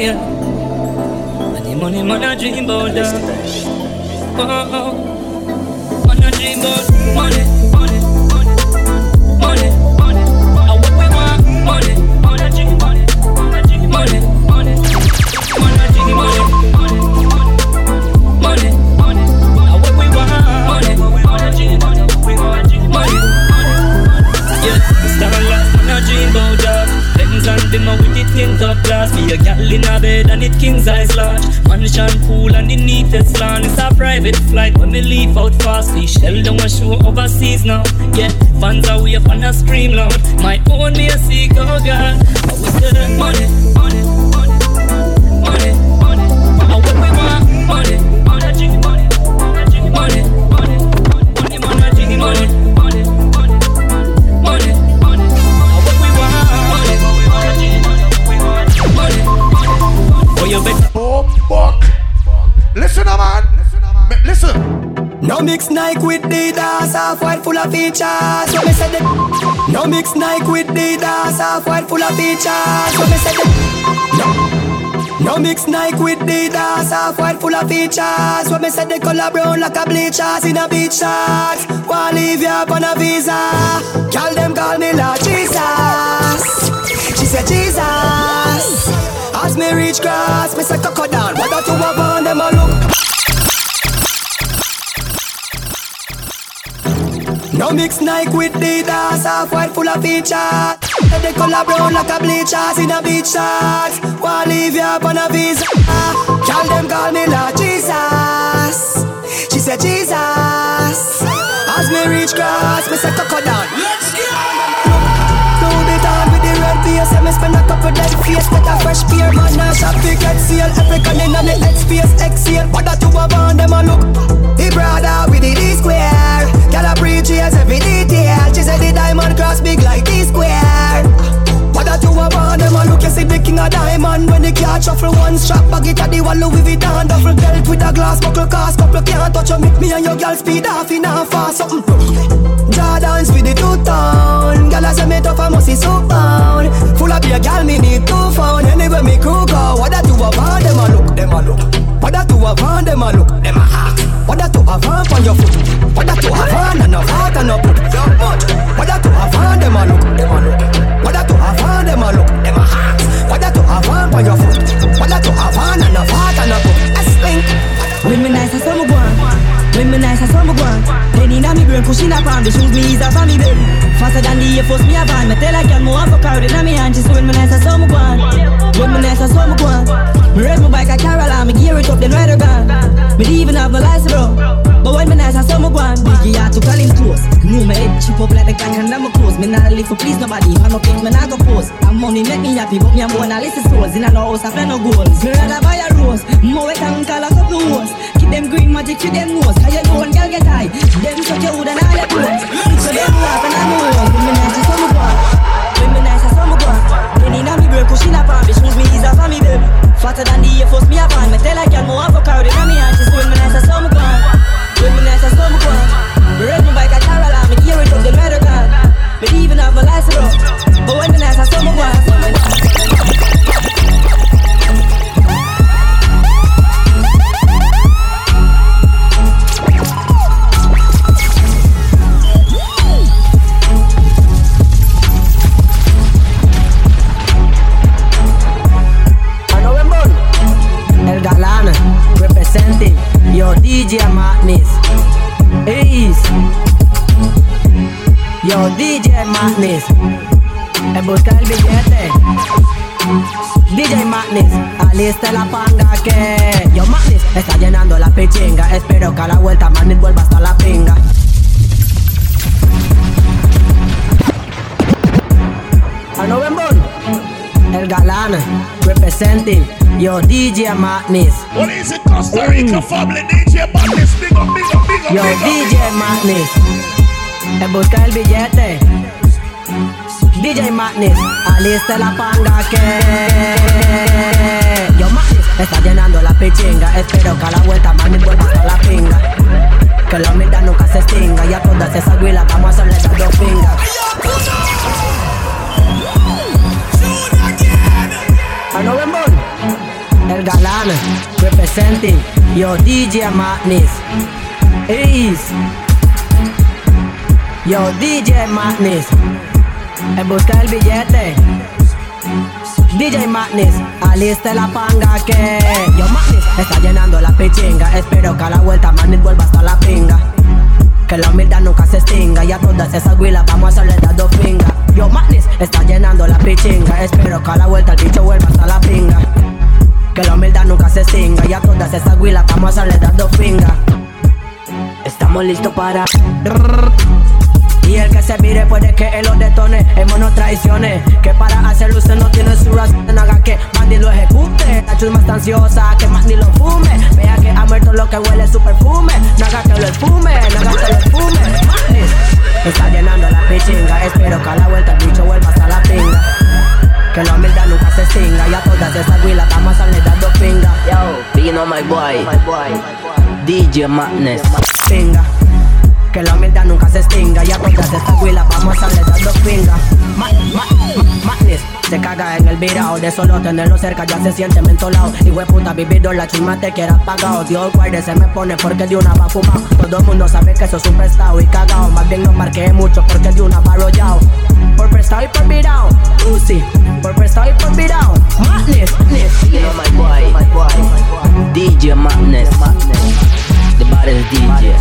yeah. And the money man a dream about that. Oh, man a dream about money, money, money, money, money. And what we want, money, money, dream money, money, money, money, money, money, money, money. And what we want, money, money, money, money. Yeah, starlight, man a dream about that. Lens and them a wicked tint of glass. Be a gal in a bed and it king size large. Mansion pool and the neatest lawn. It's a private flight when me leave out fast. We shell down a show overseas now. Yeah, fans are wave and a scream loud. My own me a seek, oh God. I we say money, money, money, money, money. And what we want, money, money, money, money, money, money, money, money, money. Oh, fuck. Listen, man. Listen. No mix Nike with Adidas, half white full of features. So me said it. No mix Nike with Adidas, half white full of features. So me said it. No mix Nike with Adidas, half white full of features. So me said the color brown like a bleachers in a beach shorts. Wanna leave you up on a visa. Girl them call me Lord Jesus. She said Jesus. As me reach grass, me say cocoa down. What that you want on them a look? No mix Nike with Adidas, half white full of features. The color brown like a bleachers in a beach shorts. Wanna leave you up on a visa. Girl them call me Lord Jesus. She said Jesus. As me reach grass, me say cocoa down. Let's go. Through the town with the red face, me spend a couple dead face. Get a fresh pair, man, I shop to get seal. African in on the headspace, exhale. What that you have on them a look? The brother with the D-square. Girl a preach every detail. She said the diamond cross big like D-square. What that you have on them a look? You see the king of diamond. When the car shuffle one strap, bag it at the wall Louis Vuitton. Duffel belt with a glass buckle cast. Couple can't touch me. Me and your girl speed off in a fast something. Jordans with the two-tone. Girl I say me tough, I must see so pound. Full of beer, girl me need 2 pound. Anyway me crew go. What that you have on them a look? Them a look. What that you have on them a look? Them a hack. What that you have on your foot? What that you have on and no heart and no put? What that you have on them a look? Them a look. What that you have on them a look? Them a hack. What that you have on your foot? What that you have on and no heart and no put? I stink. When me nice as some one. When me nice as some one. Penny na me brain pushing up on the shoes me is a family baby. Faster than the Air Force me a van. Me tell a girl more for crowd in a me hand. She say when me nice as some one. When me nice as some one. Me raise my bike a Caroline. Me gear it up then ride her gun. Me even have no license bro. But when me nice as some one. Biggie had to call him close. Knew me head chip up like the gang and I'm a close. Me not live for please nobody. If I no think me not go post. And money make me happy but me a more than list stores. In a no house I play no goals. Me rather buy a rose. More wet and call a couple hoes. Keep them green magic to them nose. Cause you know one girl get high. Them suck your hood and all your clothes. So them laugh and I know. When me nice as some one. When me nice as some one. Penny na me brain pushing up on me. Shoes me is a family baby. Faster than the Air Force me a van. Me tell a girl more have a crowd in a me hand. She say when me nice as some one. When me nice as some one. Me ride my bike a Caroline. Me gear it up then ride her gun. Me even have my license bro. But when me nice as some one. Representing your DJ Madness. Is your DJ Madness. Busca el billete. DJ Madness, alista la panga que yo Madness está llenando la pichinga. Espero que a la vuelta Madness vuelva hasta la pinga. A November, el galán, representing your DJ Madness. What is it, Costa Rica family? DJ Madness, big up, big up, big up. Yo, DJ Madness, en busca el billete. DJ Madness, alista la panga que yo Madness está llenando la pichinga. Espero que a la vuelta Madness vuelva hasta la pinga. Que la humildad nunca se extinga. Y a todas esas huilas vamos a hacerle esas dos pingas. A November, One, representing your DJ Madness. Ease. Yo, DJ Madness. En busca del billete. DJ Madness, aliste la panga que yo Madness está llenando la pichinga. Espero que a la vuelta Madness vuelva hasta la pinga. Que la humildad nunca se extinga. Y a todas esas huilas vamos a hacerle dando pinga. Yo Madness está llenando la pichinga. Espero que a la vuelta el bicho vuelva hasta la pinga. Que la humildad nunca se extinga. Y a todas esas huilas vamos a hacerle dando pinga. Estamos listos para... Y el que se mire puede que él lo detone. Hemos no traiciones, que para hacer luces no tiene su razón. No haga que Mandy lo ejecute. La chusma está ansiosa, que Mandy lo fume. Vea que ha muerto lo que huele su perfume. No haga que lo esfume, no haga que lo esfume. Madness está llenando la pichinga. Espero que a la vuelta el bicho vuelva hasta la pinga. Que la humildad nunca se extinga. Y a todas esas huilas vamos a salir dando pinga. Yo, being on my boy, DJ Madness. Pinga. Que la humildad nunca se extinga. Y a todas estas huilas vamos a salir dando pinga. Madness se caga en el virao. De solo tenerlo cerca ya se siente mentolado. Y hueputa vividor, la chisma te quiera pagado. Dios guarde se me pone porque de una va fumado. Todo el mundo sabe que eso es un prestado y cagao. Más bien no marqué mucho porque de una va arrollado. Por prestado y por virao. Pussy, por prestado y por virao. Madness. You know my boy, DJ Madness. The baddest DJ.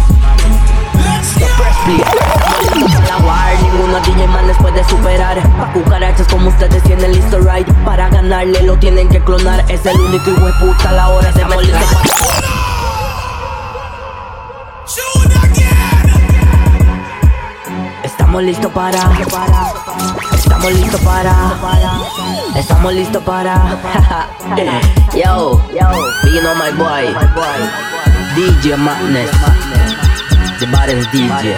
La war, ninguno DJ Madness puede superar. Pa' cucarachas como ustedes tienen listo ride. Para ganarle lo tienen que clonar. Es el único hijo de puta a la hora de molestar. Estamos listos para. Estamos listos para. Estamos listos para. Yo, being on my boy, DJ Madness. The baddest DJ.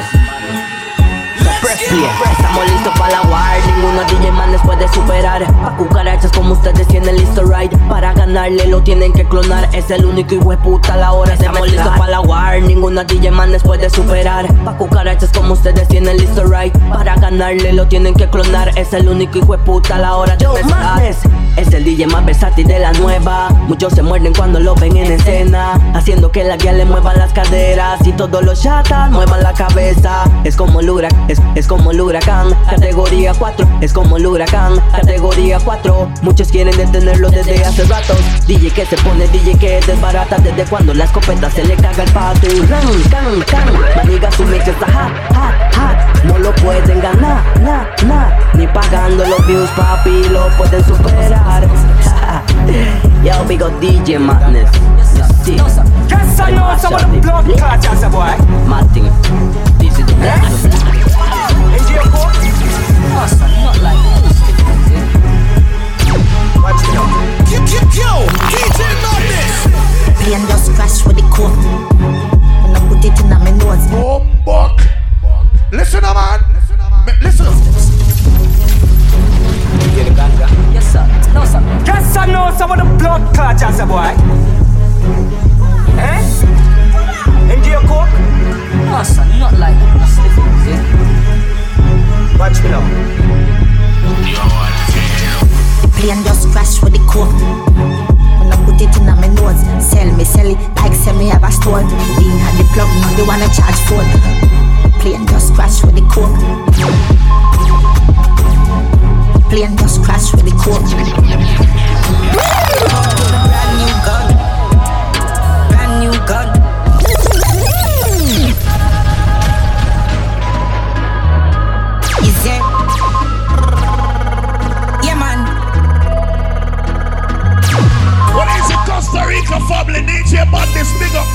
Estamos listos para la war. Ninguno DJ Madness puede superar. Pa' cucarachas como ustedes tienen listo ride. Para ganarle lo tienen que clonar. Es el único hijo de puta a la hora. Estamos listos para la war. Ninguno DJ Madness puede superar. Pa' cucarachas como ustedes tienen listo ride. Para ganarle lo tienen que clonar. Es el único hijo de puta a la hora de empezar. Es el DJ más versátil de la nueva. Muchos se muerden cuando lo ven en escena, haciendo que la guía le muevan las caderas. Y todos los chatas muevan la cabeza. Es como el huracán, es como el huracán. Categoría 4, es como el huracán. Categoría 4, muchos quieren detenerlo desde hace ratos. DJ que se pone, DJ que desbarata. Desde cuando la escopeta se le caga el pato. Maniga su mix está hot. No lo pueden ganar, ni pagando los views, papi, lo pueden superar. Yo, big up DJ Madness. See, yes, I know some of the blood clots, boy. Martin, this is the black. Is your coat? No, son, not like watch it out. Yo, DJ Madness. Plane just crash with the coke. When I put it in my nose. Oh, buck. Listen, man. Listen. You the ganga? Yes, sir. No, sir. Yes, I know some of the blood clots, boy. Into your coke? No, sir, not like watch me now. Plane just crash with the coke. When I put it in my nose. Sell it like sell me have a store. Lean at the plug, now they wanna charge phone. Plane just crash with the coke. Plane just crash with the coke. Brand new gun. Brand new gun. Is it? Yeah, man. What is it, Costa Rica family? DJ Madness, big up.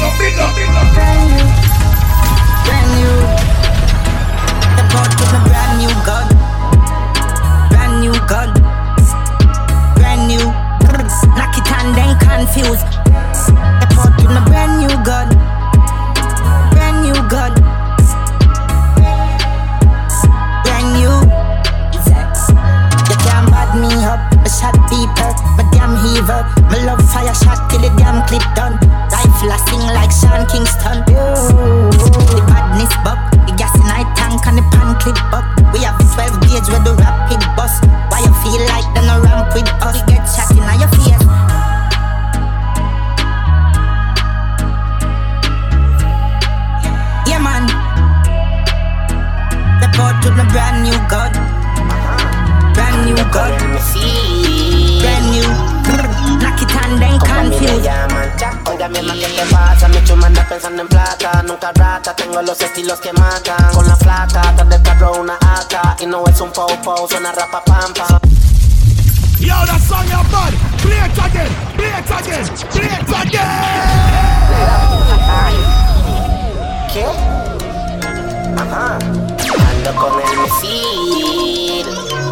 Brand new. The boat with a brand new gun. Brand new gun. Brand new. Knock it and then confused. The boat with a brand new gun. Brand new gun. Brand new. You can't bad me up. I shot people. My damn heaver. My love fire shot till the damn clip done. Rifle I sing like Sean Kingston. The badness buck. The gas in my tank and the pan clip up. We have 12 gauge with the rapid bus. Why you feel like they no ramp with us? You get shot in your face. Oiga, mi hermano, ¿qué te pasa? Mi chuma anda pensando en plata. Nunca rata, tengo los estilos que matan. Con la flaca, atrás del carro una AK. Y no es un po-po, suena rapa pampa. Yo, that song you're bad. Play it again, play it again, play it again. ¿Qué? Ajá. Ando con el misil.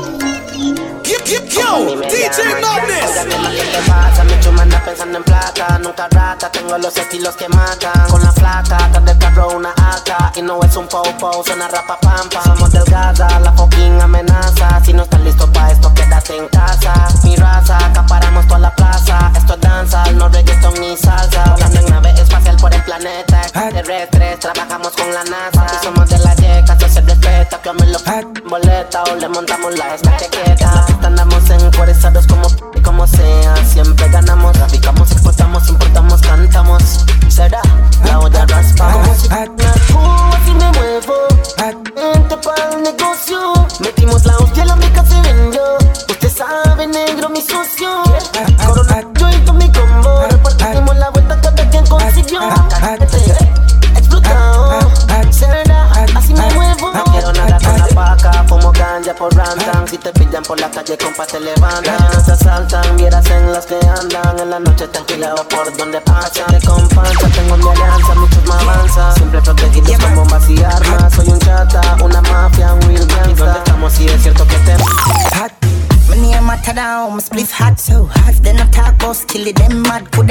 Yo, DJ Madness. Oiga, ¿qué te pasa? Mi chuma anda pensando en plata. Nunca rata, tengo los estilos que matan. Con la flaca, atrás del carro una AK. Y no es un po-po, suena rapa pampa. Somos delgada, la fucking amenaza. Si no estás listo pa' esto, quédate en casa. Mi raza, acaparamos toda la plaza. Esto es danza, no reggaeton ni salsa. Volando en nave espacial por el planeta. Extraterrestres, trabajamos con la NASA. Y somos de la yeca, eso se respeta. Que me lo boleta o le montamos la chaqueta. Andamos encuarezados como sea. Siempre ganamos, traficamos, exportamos, importamos, cantamos. Será la olla raspa. Como si así me muevo. Gente pa'l negocio. Metimos la hostia, la mica se vendió. Usted sabe, negro, mi socio. Corona, yo y con mi combo. Repartimos la vuelta cada quien consiguió. Explotado. Será así me muevo. No quiero nada con la paca. Fumo ganja por rantan. Si te pillan por la calle, compa, te levantan. No se asaltan, vieras en las que andan. En la noche tranquila o por donde pasan. De companza, tengo mi alianza, muchos me avanzan. Siempre protegidos con bombas y armas. Soy un chata, una mafia, un real gangsta. ¿Y dónde estamos? Si es cierto que te hot. My name matter down, my spliff hot so hot. Then I talk about skill, them mad could they?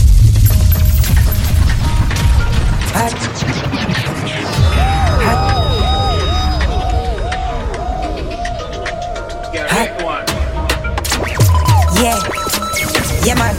Hot. Yeah, man.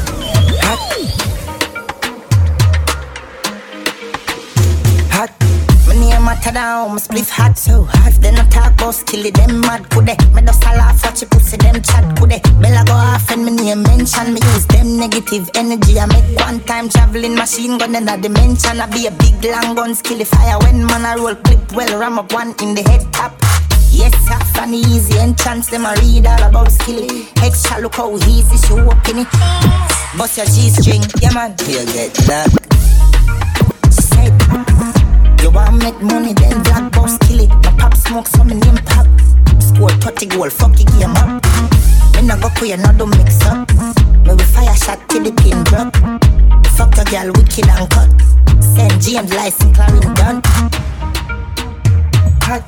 Hot. My name matter down, my spliff hot so hot. Then I talk about skill, them mad could they? Me just a laugh, watch you pussy, them chat could they? Bella go off and my name mention. Me use them negative energy. I make one time traveling machine gun in a dimension. I be a big long gun skill fire when man I roll clip well ram up one in the head top. Yes, half an easy entrance, them a read all about skilly. Extra look how easy she walking it. Bust your G-string, yeah man, you get that. Said, you want make money, then black boss kill it. My pop smoke, so my name pop. Score 30 goal, fuck your game up. Me no go queer, no don't mix up. Me we fire shot till the pin drop. Fuck your girl, wicked and cut. Send James license, Clarin done. Hot.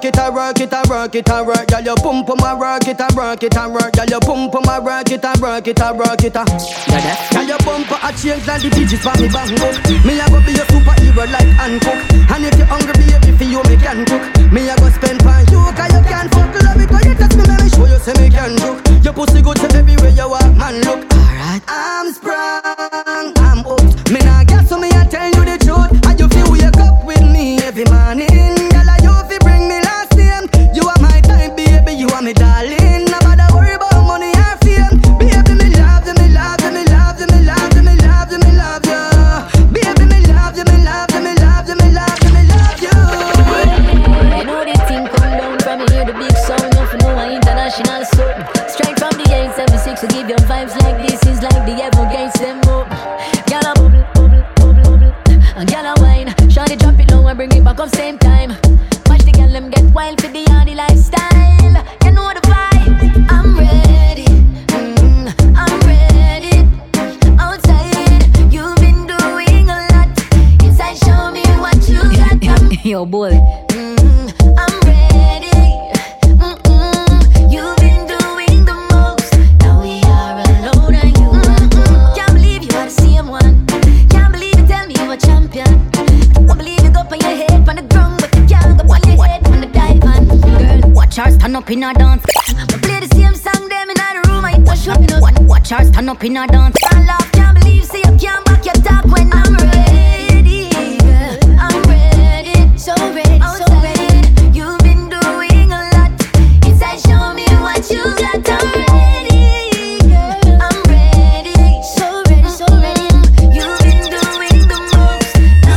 work it and work it and work it and work. Girl, you pump on my work it and work it and work. Girl, you pump on my work it and work it and work it. Girl, you pump a change like the digits for me bang book. Me a go be your superhero like Hancock. And if you hungry, baby, for you me can cook. Me a go spend for you, 'cause you can't fuck love it. 'Cause you touch me, let me show you say me can cook. Your pussy good to everywhere you walk, man. Look, alright, I'm sprung, I'm hooked. Me nah guess so me a tell you the truth. And you feel wake up with me every morning. Girl, you fi bring me last name. You are my time, baby, you are me darling. No matter worry about money or fame. Baby, me love you, me love you, me love you, me love you, me love you, me love you. Baby, me love you, me love you, me love you, me love you, me love you. You know this thing come down from me, hear the big sound. You know I international soap. Straight from the 876 to give you vibes like this is like the ever gates them up. Gyal a bubble, bubble, bubble, bubble. And gyal a wine. Shawty drop it low and bring it back up same time. Watch the gyal them get wild for the hardy lifestyle. You know the vibe. I'm ready, I'm ready. Outside, you've been doing a lot. Inside, show me what you got. Yo, boy. I'm ready. You've been doing the most. Now we are alone and you. Can't believe you are the same one. Can't believe you tell me you're a champion. Won't believe you go on your head on the ground, but you can't go on your head on the dive on. Girl, watch her stand up in her dance. We play the same song them in the room. I push up in us. Watch her stand up in her dance. I love, can't believe say you can't back your talk when I'm ready. Girl, I'm ready, so ready, so ready. You've been doing a lot. Inside, show me what you got. I'm ready, girl. I'm ready, so ready, so ready. You've been doing the most.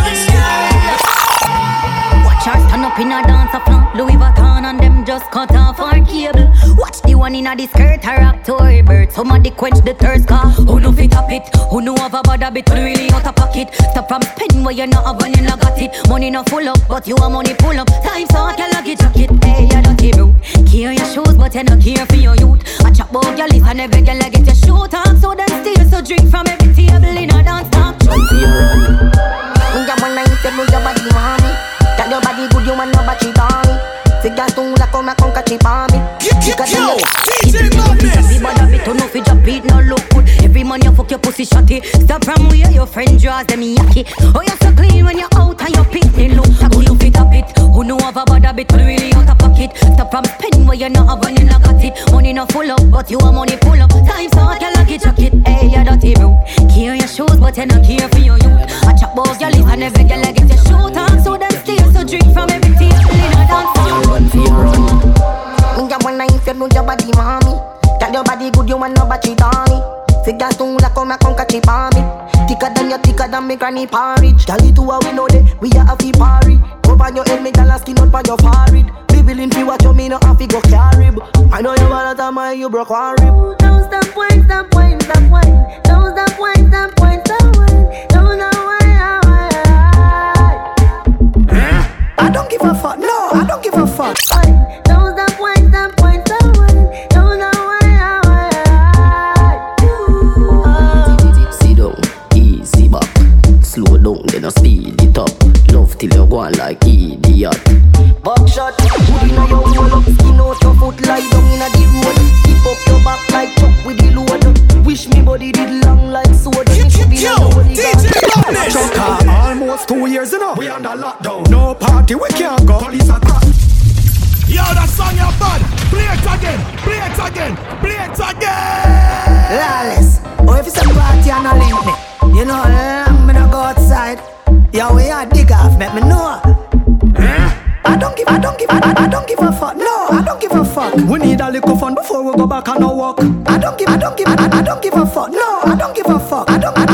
Watch her stand up in her dance a flaunt Louis Vuitton and them just cut off our cable. Watch the one in a the skirt her October bird. Somebody quench the thirst car. Who know fit up it? Who know have a bad habit? Who really out of pocket? Stop from spending where you not have when you not got it. Money not full up, but you a money pull up. Time so I can lock it, chuck it. Hey, you dirty bro. Care your shoes, but you not care for your youth. I chop about your list and every girl I get your shoot on. So then steal, so drink from every table in a dance stop. When you wanna eat it, move your body, mommy. Tell your body good, you want no battery, mommy. Figure tu la come con catchy, mommy. Yo, DJ Madness. Everybody turn off, drop it, no look good. Every man you fuck your pussy shotty. Stop from where your friend draws them yucky. Oh, you're so clean when you're out and you're picking look. Who you fit up it? Who know have a bad habit? Who really out of pocket? Stop from spending where you not have when you not got it. Money not full up, but you a money pull up. Time so I can lock it, chuck it. Hey, you dirty bro. Care your shoes, but you not care for your youth. I chop off your lip and every girl I get your shoot on. So then steal, so drink from every table in a dance. Run for your run. When you wanna eat it, move your body, mommy. Tell your body good, you want no battery, Tommy. Figure tu la come con catchy, mommy. Thicker than me granny porridge. Tell it to a we know that we are a fee party. Over your head, me tell a skin out by your forehead. Be willing to watch you, me no have to go carry. I know you want to time you broke one rib. Don't stop wine, stop wine, stop wine. Don't stop wine, stop wine, stop wine. Don't stop wine, I don't give a fuck, no, I don't give a fuck. don't stop wine, stop wine, stop wine. Don't stop wine. Sit down, easy back. Slow down, then I speed it up. Love till you go on like idiot. Buckshot, put in a your roll up. Skin out your foot, lie down in a the road. Keep up your back like chuck with the load. Wish me body did long like soda. Yo, DJ Madness. Choker, almost 2 years, you know. We under lockdown. No party, we can't go. Police are crack. Yo, that song you bad. Play it again, play it again, play it again. Lawless. Oh, if it's a party and a link me. You know, I'm gonna go outside. Yo, we are dig off, make me know. I don't give a fuck. No, I don't give a fuck. We need a little fun before we go back and no walk. I don't give a fuck. No, I don't give a fuck. I don't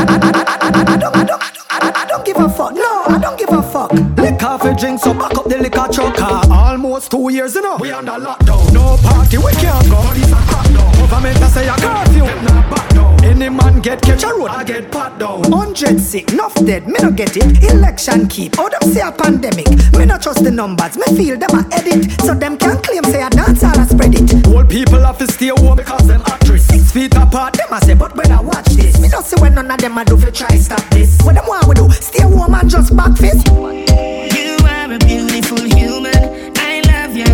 give a fuck. No, I don't give a fuck. Liquor for drink, so back up the liquor trucker. Almost 2 years, you know. We under lockdown. No party, we can't go. Police are crack down. Government a say a curfew. Not back down. Any man get catch a road, I get pat down. 100 sick, enough dead, me no get it. Election keep, oh them say a pandemic. Me no trust the numbers, me feel them a edit. So them can claim say a dance or a spread it. Old people have to stay home because them actress. 6 feet apart, them a say, but better watch this. Me don't see when none of them a do fi try stop this. What them want we do, stay home and just back fist. You are a beautiful human, I love your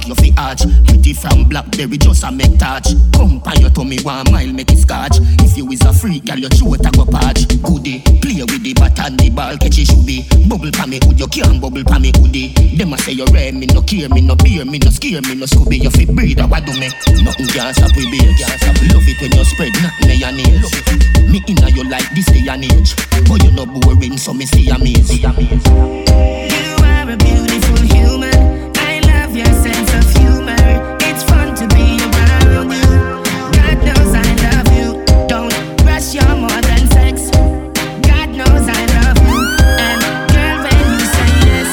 you fi arch. Pretty from Blackberry just a make touch. Come pan your tummy 1 mile make it scotch. If you is a freak, girl your throat a go patch. Goodie, play with the bat and the ball catch it should be. Bubble pa me hood, you can't bubble pa me hoodie. Them a say you rare, me no care, me no beer, me no scare, me no Scooby. You fi breathe, what do me? Nothing can stop we beer. Love it when you spread nothing in your nails. Me inna you like this day and age, but you no boring, so me stay amazed. You are a beautiful human. I love your sense of humor. It's fun to be around you. God knows I love you. Don't rush, you're more than sex. God knows I love you. And girl, when you say yes,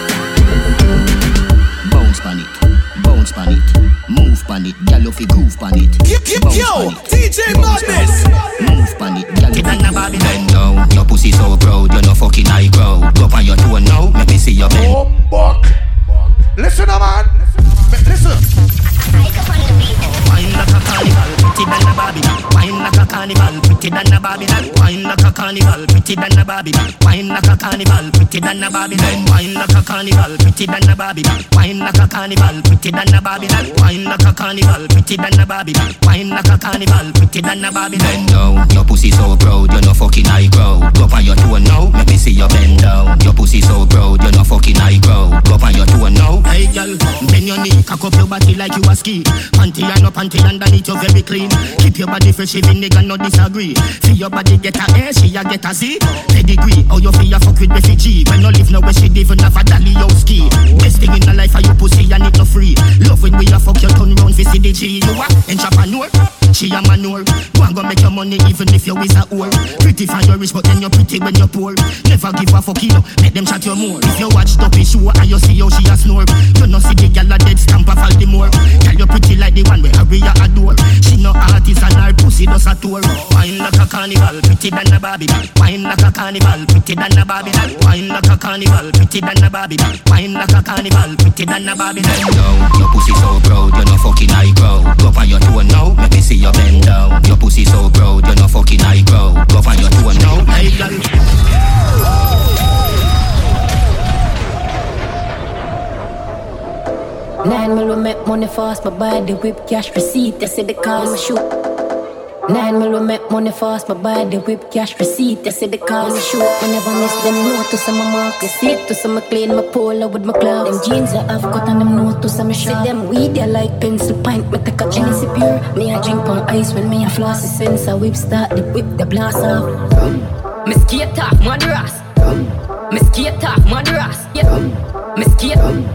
bounce pan it, move pan it, girl you fi groove pan it. Yo, DJ Madness. Move pan it, girl you fi bend down. Your pussy so proud, you no fucking high crowd. Go on your toe now, make me see your bend. Oh, fuck. Listen, man. Listen. Wine like a carnival, pretty than a Barbie. Wine like a carnival, pretty than a Barbie. Wine like a carnival, pretty than a Barbie. Wine like a carnival, pretty than a Barbie. Wine like a carnival, pretty than a Barbie. Wine like a carnival, pretty than a Barbie. Wine like a carnival, pretty than a Barbie. Wine like a carnival, pretty than a Barbie. Bend down, your pussy so proud, you no fucking high crowd. Go on your toe now, make me see your bend down. Your pussy so proud, you no fucking high crowd. Go on your toe now. Hey girl, bend your knee, cock up your body like you a ski. Panty and no panty underneath you very clean. Keep your body fresh even nigga no disagree. Feel your body get a A, she a get a Z. Pedigree, how you feel fuck with refugee. When you live now where she live and have a dolly you ski. Best thing in the life are you pussy and it no free. Love when we a fuck you turn round for CDG. You a entrepreneur, she a manure. Go and go make your money even if you is a whore. Pretty for your rich but then you pretty when you poor. Never give a fuck you, make them chat you more. If you watch Duppy show and you see how she a snore, you no see the gal a dead stamp of all the more. Tell you pretty like the one where Harriet adore. She no artist and her pussy does a tour. Wine like a carnival, pretty than a Barbie. Wine like a carnival, pretty than a Barbie. Wine like a carnival, pretty than a Barbie. Wine like a carnival, pretty than a Barbie. Bend down, your pussy so proud, you no fucking high crowd. Go on your toe now, make me see your bend down. Your pussy so proud, you no fucking high crowd. Go on your toe now, hey girl. 9 mil we make money fast, my body whip cash receipt. They say the car we shoot. 9 mil we make money fast, my body whip cash receipt. They say the car we shoot. I never miss them know to some mark. They see to some clean my polo with my clothes. Them jeans I have cut and them know to some shot. See them weed they like pencil pint. Me take a Genesee pure. Me a drink on ice when me a floss. Since I whip start the whip the blast off. Me skate off Madras. Me skate off Madras. Me skate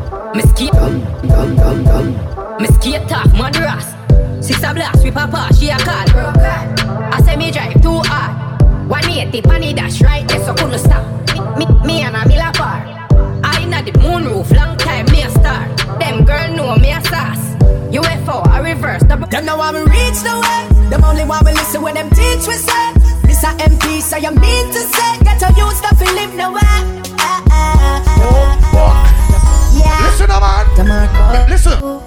off Madras. Sister blast with papa, she a call. I say me drive too hard. 180 panny dash right there so couldn't stop. Me and a mila bar. I inna the moon roof, long time me a star. Them girl know me a sass. UFO, a reverse double. Them know how we reach the way. Them only want we listen when them teach we say. This a MP, so you mean to say. Get to use stuff and live the way. Oh, fuck. Yeah. Listen, man. Listen.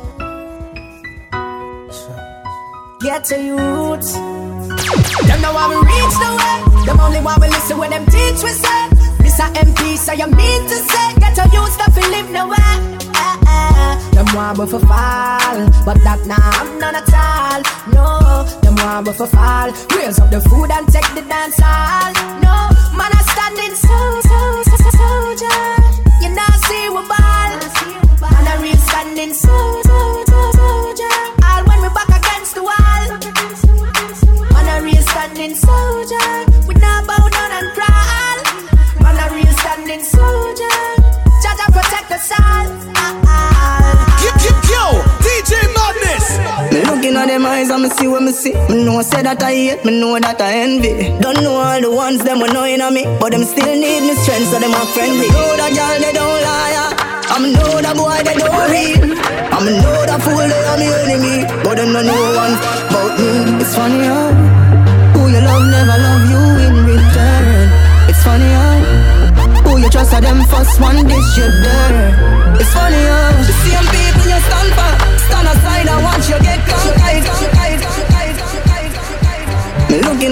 Get to your roots. Them know how we reach the way. Them only want we listen when them teach we say. This a MP, so you mean to say. Get to use stuff and live the way. Them want we for fall, but that nah I'm none at all. No, them want we for fall. Raise up the food and take the dance hall. No, man I standing soldier. You not see we ball. Man a real standing soldier. All when we back against the wall. Man a real standing soldier. We not bow down and crawl. Man a real standing soldier. Judge and protect us all. Yo, DJ Madness. Me looking at them eyes and me see what me see. Me know say that I hate, me know that I envy. Don't know all the ones them were knowing on me, but them still need me strength so them are friendly. Know that girl they don't lie. I'm know that boy they don't real. I'm know that fool they are me enemy, but them don't know one about me. It's funny how who you love never love you in return. It's funny how who you trust are them first one dish you there. It's funny how the same people you stand for, stand aside and watch you get conquered. Me looking at them eyes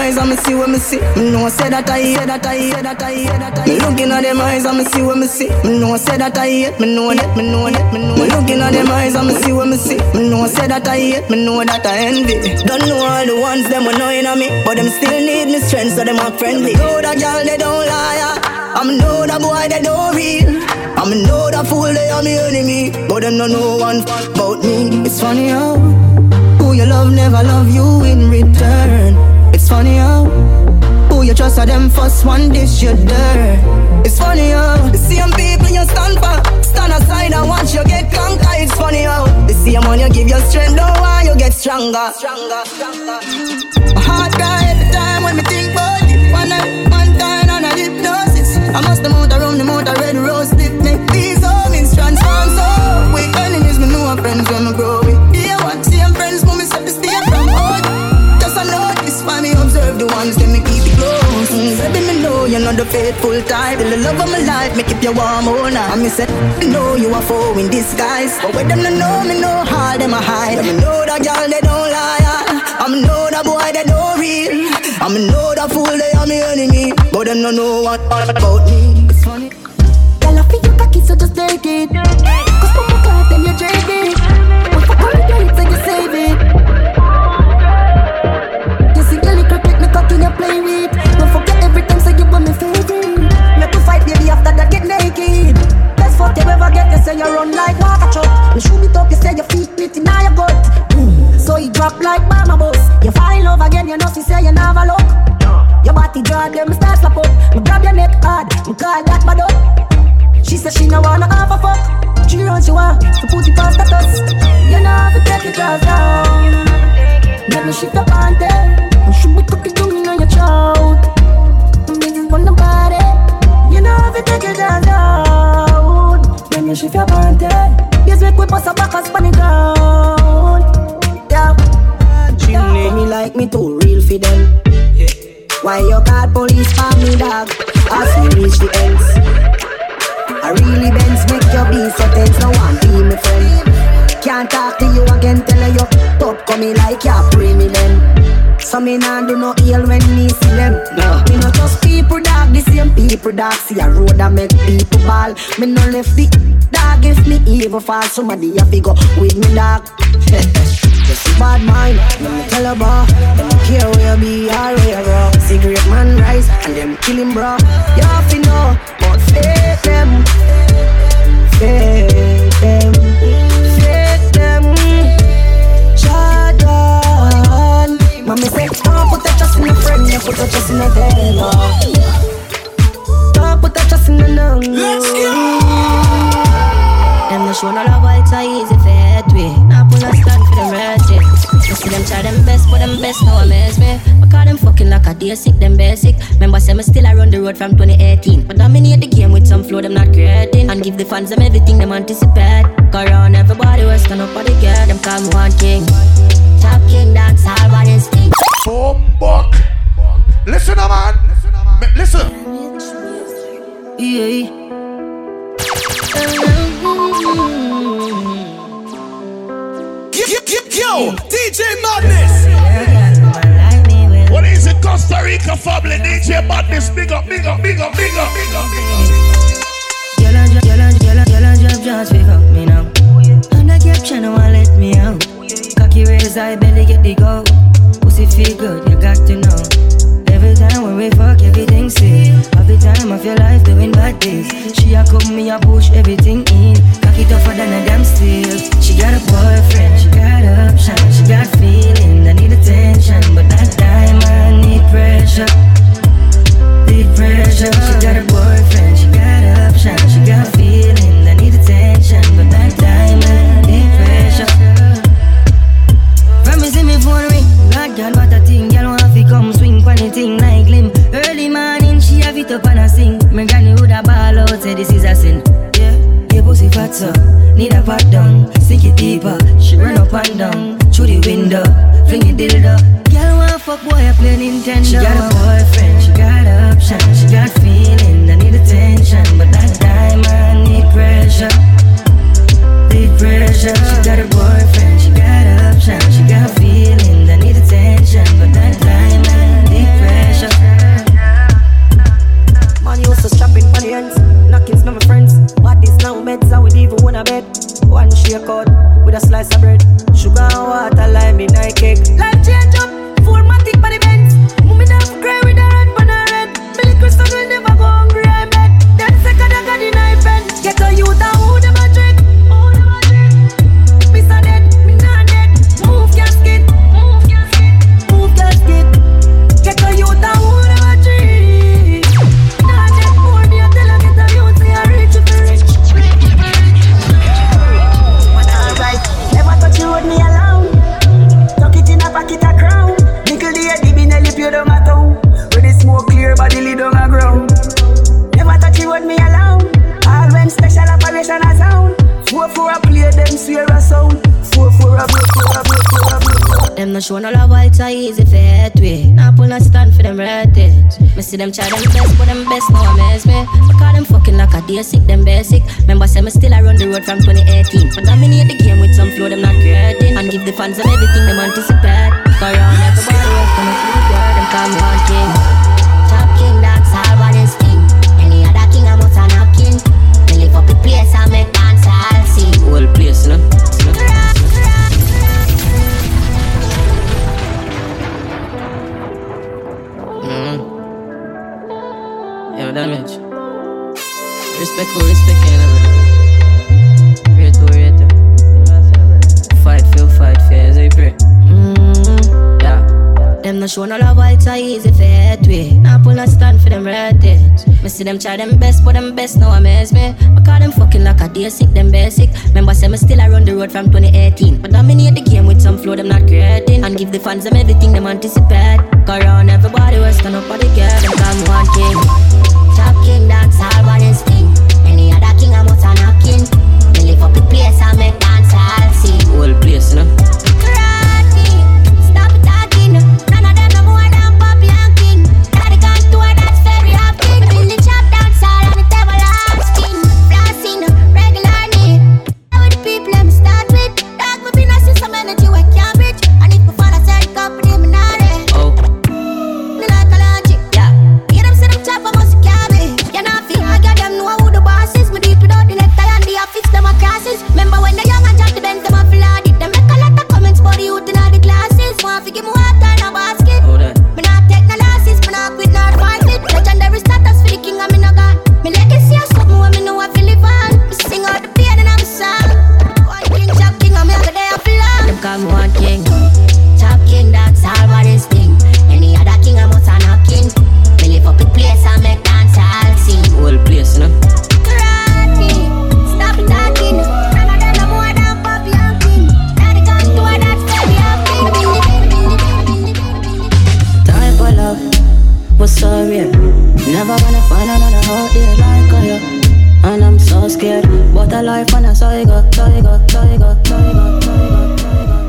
eyes and me see what me see. Me know say that I hate, that I hate, that I hate, that I hate. Me looking at them eyes and me see what me see. Me know say that I hate, me know that, me know that, me know. Me looking at them eyes and me see what me see. Me know say that I hate, me know that I envy. Don't know all the ones them annoying on me, but them still need me strength so them are friendly. Know that girl they don't lie, I'm know that boy they don't real. I'm know that fool they are me enemy, but them don't know one about me. It's funny how who you love never love you in return. It's funny how who you trust are them first one dish you dirt. It's funny how the same people you stand for stand aside and watch you get conquered. It's funny how the same one you give your strength don't want you get stronger. My heart cry every time when me think about it. One time on a hypnosis. I must have moved around the motor red rose lip. Make these homies transform so with enemies me know friends when me grow with. Yeah, what same friends move me set to stay from out. Just I notice why me observe the ones that me keep it close. Baby me know you're not the faithful type. The love of my life me keep you warm all night. And me say me know you are foe in disguise, but when them no know me know how them a hide. Me know that girl they don't lie. I know that boy they don't real. I know that fool they are me enemy, but them no know what about me. It's funny. Girl I feel you cocky so just take it. Cause from my clock then you drink it. When fuck on the girl so you save it. You see girl you cricket me cocky you play with. Don't forget every time say you want me favorite. Make you fight baby after that get naked. Best fuck you ever get, you say you run like water truck. You shoot it up, you say your feet pretty now you gut. So you drop like mama boss. You fall in love again, you know she say you never look. Your body draw them start slap up. Me grab your neck hard, me call that bad up. She say she no wanna have a fuck. She runs she want to put it on status. You know have to take your jaws down. Let me shift up on there. You should be cooking to me on your throat. Bitches on the body. You know have to take your jaws down. Let me shift up on there. Yes, we quick bust a back and span it down. Yeah, me like me too real for them. Why you call police for me dog? As we reach the ends, I really bends make your be so tense. No one be my friend. Can't talk to you again, tell you top coming like you pray me then. So me nah do no ill when me see them. No, me not just people dog, the same people dog. See a road that make people ball. Me no left the dog if me evil fall. Somebody have to go with me dog. Just a bad mind, let me tell her bro. Don't care where you be or where you go. Cigarette man rise and them kill him bro. You have to know, but fake them. Fake them. Fake them. Jordan. Mommy say, don't put a trust in a friend, you put a trust in a devil. Don't put a trust in a nun. Let's go. Them no show no love, but it's a easy fate way. Now pull a stand for them ratchet. You see them try them best, but them best now amaze me. I call them fucking like a day sick, them basic. Remember say me still I run the road from 2018. But dominate the game with some flow, them not creating. And give the fans them everything them anticipate. Go around everybody, we stand up for the girl. Them call me one king. Top king, dance all by instinct. Boom, buck. Listen, man. Listen. Yeah. Yo, DJ Madness. What is it, Costa Rica family? DJ Madness, big up, big up, big up, big up, big up, big up. Yellow just pick up me now. And I kept trying to let me out. Cocky raise, I barely get the go. Pussy feel good, you got to know. Every time when we fuck, everything's safe. Half the time of your life doing bad days. She a come, me a push everything in. Cocky tougher than a damn steel. She got a boyfriend, she got option, she got feeling. I need attention, but that time I need pressure. Need pressure. She got a boyfriend, she got option, she got feeling. I need attention, but that time I need pressure. Promising me phone ring. God, girl, what a thing. Girl, want to come swing pon the thing like limb. Early morning, she have it up and a sing. My granny would a ball out, say this is a sin. Yeah, your pussy fat so need a pat down. Sink it deeper, she run up and down. Through the window, fling it dildo. Girl, want fuck boy, I play Nintendo. She got a boyfriend, she got option, she got feeling. I need attention, but that time I need pressure. Need pressure. She got a boyfriend, she got option, she got feeling. I need attention, but that time I need pressure. own a bed. One shake out with a slice of bread. Sugar and water, lime in a cake. Life change up, 4matic by the Benz. Mummy never cry with a red pan a red. Billy Crystal will never go hungry, I bet. Them second I got the knife and get a youth and who them a trick. Miss a dead, me not dead. Move casket, move casket. Get a youth and who them a trick. Not dead more, me a tell her get a youth say I rich if you rich. Alright, never touch you with me alone. Tuck it in a pocket a crown. Nickel the head, the Nelly pure down a town. When the smoke clear, body lid on a ground. Never touch you with me alone. All when special operation a sound. 4 for a play, them swear a sound. 4 for a blow. Them no show no love, it's a easy for head way. Now pull no stand for them red it. Me see them try them best, but them best now amaze me. Because them fucking like a day sick, them basic. Remember say me still around the road from 2018. But dominate the game with some flow, them not creating. And give the fans them everything them anticipate. Cause around everybody else, come and see the girl, them call me one king. Top king, that's all what is king. Any other king, I must have not king. Me live up the place, I make dance, I'll sing. Whole place, no? Yeah, damage. Respect for respect, rate for rate. Fight for, as I pray. Yeah. Them no show no love, it's a easy for head way. Now pull no stand for them red it. Me see them try them best, but them best now amaze me. Because them fucking like a day sick, them basic. Remember say me still around the road from 2018. But dominate the game with some flow, them not creating. And give the fans them everything them anticipate. Cause around everybody was stand up for the girl, them call me one king. Top king, that's all what is king. Any other king, I must have not king. Me live up the place, I make dance, I'll sing. Whole place, no? Stop talking. None of them no more than Poppy and King. Daddy gone to her, that's very happy. In the chop dance all on the table, I'm skin. Flossing, regular need. Now with the people, let me start with. Dog, me been a system energy, we can't bridge. And if we find a third company, me not ready. Oh. Me like a logic, yeah. Hear them say them chop, I must carry. You know, feel I got them know who the boss is. Me do it without the necktie and the office, them a crosses. Remember when the young and drop the Benz, them a flood it. Them make a lot of comments for the youth in all the classes. Want to give me water in a basket. Me not take no losses, me not quit, not fight it. Legendary status for the king and me no gone. Me legacy is something when me know I feel it on. Me sing out the pain and I'm song. One king, top king, and me have a day of love. Them call me one king. Top king, that's all what is thing. Any other king, I must have not king. Me live up the place and make dance, I'll sing. Whole place, no? Stop talking. None of them no more than Poppy and King. Daddy gone to her, that's very happy. Type of love was so real. Never gonna find another heart there like you. And I'm so scared. But a life and I saw you go, saw you go, saw you go, saw you go, saw you go.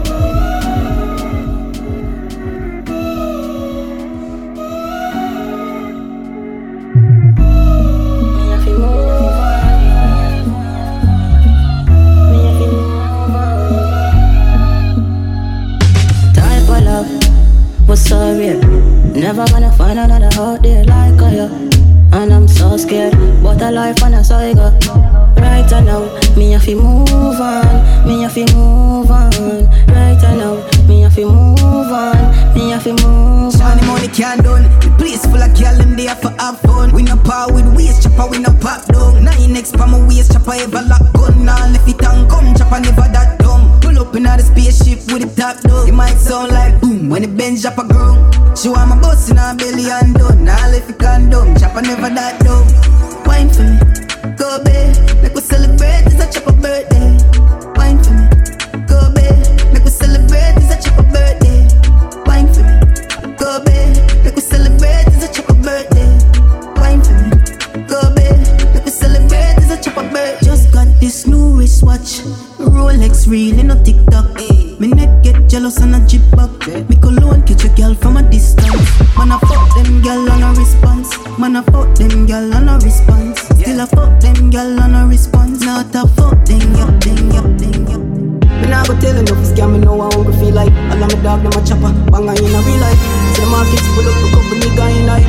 Was so real. Never gonna find another heart there like you. And I'm so scared. But a life and I saw you go. Right now, me have to move on. Me have to move on. Right now, me have to move on. Me have to move on. Money, money can't done. The place full of girl them there for have fun. We no power with waist chopper, we no pop down. 9X pa my waist chopper ever lock gun. Now left it and come chopper never that dumb. Pull up in the spaceship with the top down. It might sound like boom when the Benz drop a ground. She want my boss in her belly and done. Now left it condom, chopper never that dumb. Wine for me, go babe. Make we celebrate, it's a chopper birthday. Wine for me, go babe. Make we celebrate, it's a chopper birthday. Wine for me, go babe. Make we celebrate, it's a chopper birthday. Wine for me, go babe. Make we celebrate, it's a chopper birthday. Just got this new wristwatch, Rolex reel in a TikTok. Me neck get jealous and a jib back. Me cologne catch a girl from a distance. Man I fuck them girl on a response. Man I fuck them girl on a response. Still I fuck them girl on a response. Not a fuck them yup, them yup, them yup. Me nah go tell enough this girl me know how I feel like. All of my dog them a chopper, banga in a real life. See the markets full up, a couple nigga in life. They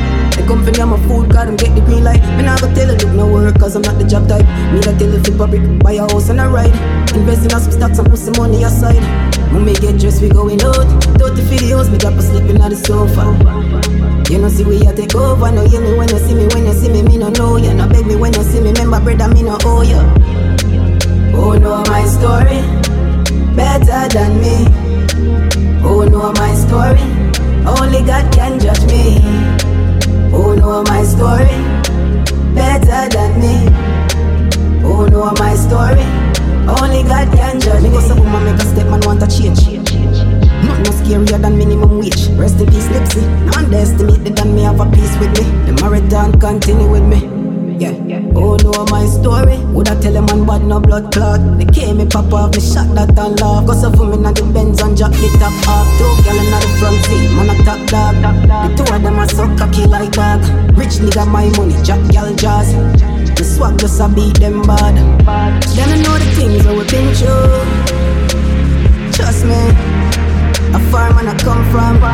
company and my food, cause them get the green light. Me nah go tell you look no work, cause I'm not the job type. Me that tell you flip a brick, buy a house and a ride. Invest in some stocks and put some money aside. When me get dressed, we going out. 30 videos, me drop a sleeping on the sofa. You know see we a take over. No hear me when you see me, when you see me, me no know you. No beg me when you see me, remember brother, me no owe you. Oh know my story better than me. Oh know my story, only God can judge me. Oh know my story better than me. Oh know my story, only God can judge me. Go some woman make a step, man want a change. Nothing no scarier than minimum wage. Rest in peace, Nipsey. No underestimate the than me have a peace with me. The marathon continue with me. Yeah. Oh no, my story. Would I tell a man bad no blood clot? They came me pop off, me shot that and laugh. Cause of them in the Benz and Jack the top off. Two girl in the front seat, man a top dog. The two of them are so cocky like dog. Rich nigga my money, Jack girl jazz. The swag just a beat them bad. Then I know the things that we been through. Trust me. A farm and I come from. Me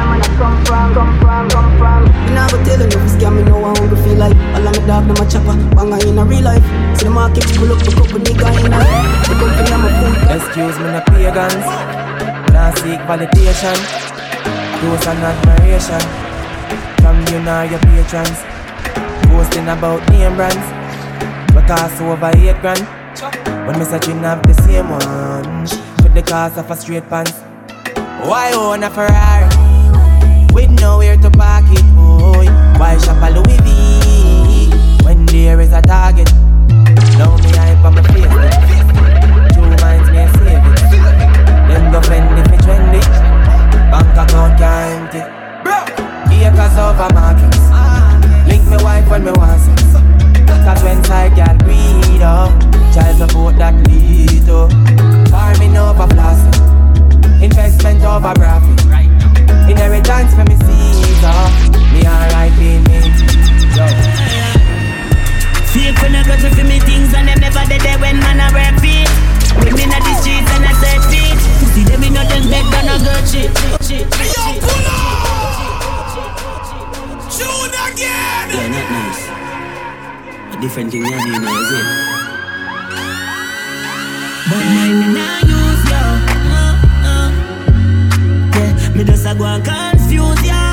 nah go tell you no scam me know how hungry feel like. All of me dog no my chopper, banga in a real life. See the market pull up the couple nigga in a. The company I'm a fool. Excuse me no pagans, nah seek validation. Those and admiration from you now your patrons. Boasting about name brands, but cost over 8 grand. When me searching have the same one, with the cost of a straight pants. Why own a Ferrari with nowhere to park it, boy? Why shop a Louis V when there is a target? Now me hype on my face. 2 minds me a save it. Then go fend if it trendy. Bank account can't empty. Acres over markets. Link me wife when me want sex. Cause when side girl breed up, child support that lead up. Farming over plastic. Investment over profit. Inheritance for me Caesar. Me alright in me. Fake when I got to me things and them never dead there when man a rap feet. Women at the streets and I said feet. See them in nothing better than a good shit. Yo, pull up! Shoot again! Yeah, not nice. A different thing you do now, is it? But mine now use yo. Me just a go and confuse ya.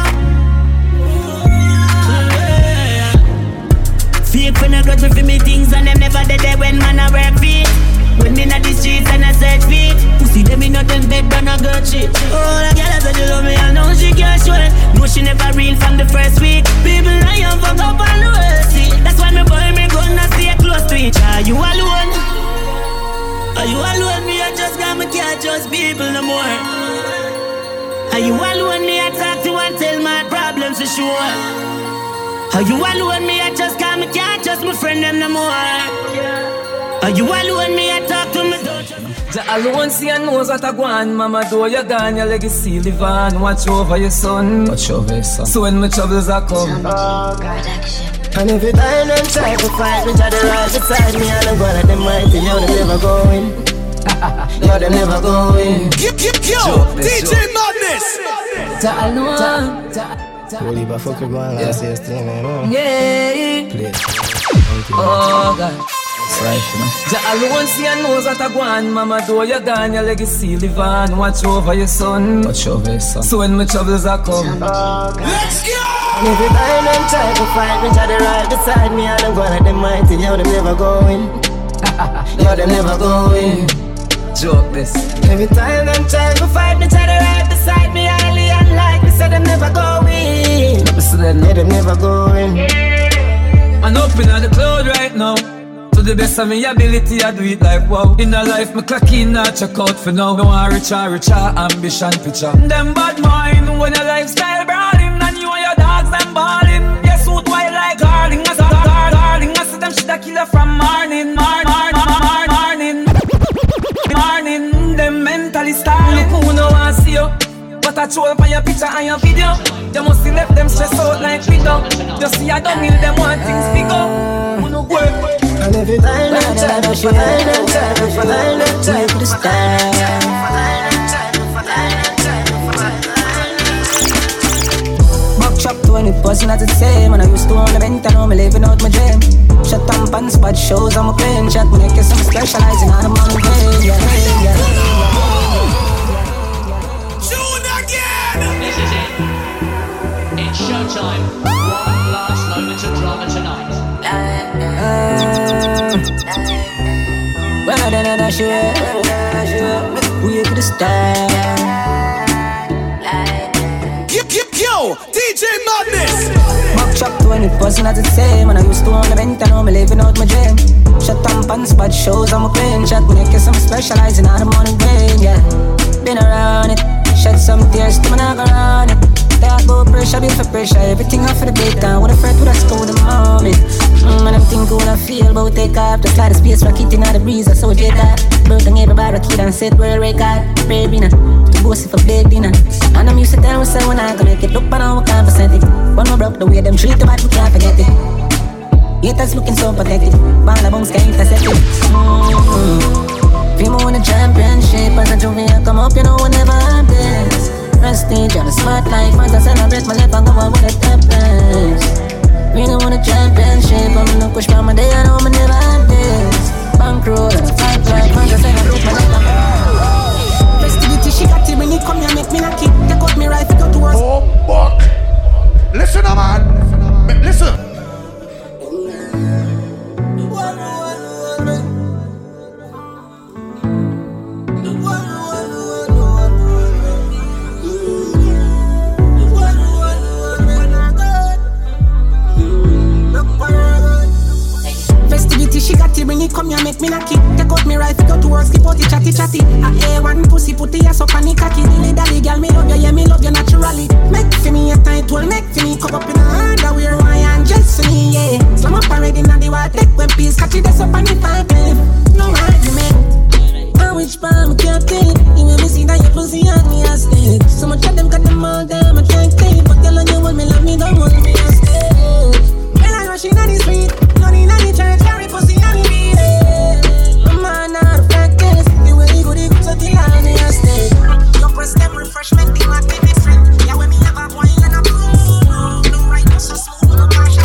Fake when I got to me things and them never dead there when man a work feet. When me na the streets and I search feet. Pussy them in nothing better than a good shit. Oh, the girl said she love me and now she can't show it. No, she never real from the first week. People I am fuck up on the world see. That's why me boy me gonna stay close to each. Are you alone? Are you alone? Me I just got me can't trust people no more. Are you alone? Me I talk to and tell my problems for sure. Are you alone? Me I just call me can't trust my friend them no more. Are you alone? Me I talk to me don't trust. The alone see and knows what I want. Mama do you gone, your legacy live on. Watch over your son. Watch over your son. So when my troubles are come. And every time them try to fight me, try to right beside me, and I'm gonna them mighty, yo, them never going. Yo, them never going. Yo, DJ Madness. The alone. Holy but fuck you going on, say this thing, man. Yeah. Please. Oh God. The alone see and knows what I want. Mama do you gone, your legacy live on. Watch over your son. Watch over your son. So when my troubles are come. Let's go! And every time them try to fight me, try to right beside me, and I'm gonna them mighty, yo, them never going. Yo, them never going. Joke this. Every time them try to fight me, try to right beside me, highly unlike me, say them never going. Yeah, them never going. I'm up in the cloud right now. To the best of my ability, I do it like wow. In a life, me clock in, not check out for now. No one richer, ambition picture. Them bad mind, when your lifestyle brawling, and you and your dogs, them balling. Yes, suit white like darling, I saw darling. I see them shit a killer from morning. Them mentally starving. Look who no want see you, but I troll for your picture and your video. You must see left them stressed out like widow. Just see I don't need them want things bigger. Who no work. And every time them try to fight, them try to stand. Back chop 20 plus wasn't as it same. When I used to own the vent, I know me living out my dream. Shut up and spot shows on my plane. Chat me like some specializing on the money game. Yeah. Tune again. This is it. It's showtime. One last moment of drama tonight. Well, then I should we could stand. Yo, DJ Madness. Buck chop to when it wasn't as it same. When I used to own the vent, I know me living out my dream. Shut up and spot shows on my plane. Chat me like some specializing on the morning rain. Yeah, been around it. Shed some tears to my knock around it. Talk about pressure, build for pressure. Everything off for the big time. What a friend with a school the moment. And I'm thinking what I feel about take off. Just like the space rocket in the breeze. I saw J-Dot. Building everybody kid and set world record. Baby now, to boast for big dinner. And I'm used to tell myself when I can make it look but I can't percent it. When we broke the way them treat the bad, we can't forget it. Haters looking so pathetic. Ball bounce can't intercept it. Feel win a championship. As a junior come up, you know whenever I'm this. Prestige on a smart life. As I celebrate my life, I go on with the top place. We don't want a championship. I'm gonna push by my day, I know I never have this. Bankroll and a fight life. As I celebrate my life. Festivity, she got it when it come here, make me knock it. Take out me rifle, go to work. Oh, fuck. Listen, man. Listen. Festivity, she got it when it come here, make me knock it. Take out me rifle, go to work, skip out the chatty. I A1 pussy, put the ass up on the cocky. Dilly dally, girl, me love you, yeah, me love you naturally. Make for me a tight will make for me come up in a underwear, why and just for me, yeah. Slam up already, now the water, take one piece, catch it, that's up on the pipe, no argument. I wish palm, I can't tell it. You will see that your pussy on me, I stay. So much of them got them all down, I can't take. But tell on you want me, love me, don't want me, I stay. Girl, I rush in on the street, money in the church, carry pussy on the beat. I'm on out of practice, the way you go, so till I me, I stay. Your press them refreshment, they might be different. Yeah, when me have a boy and a blue, no right, no so smooth, no cash.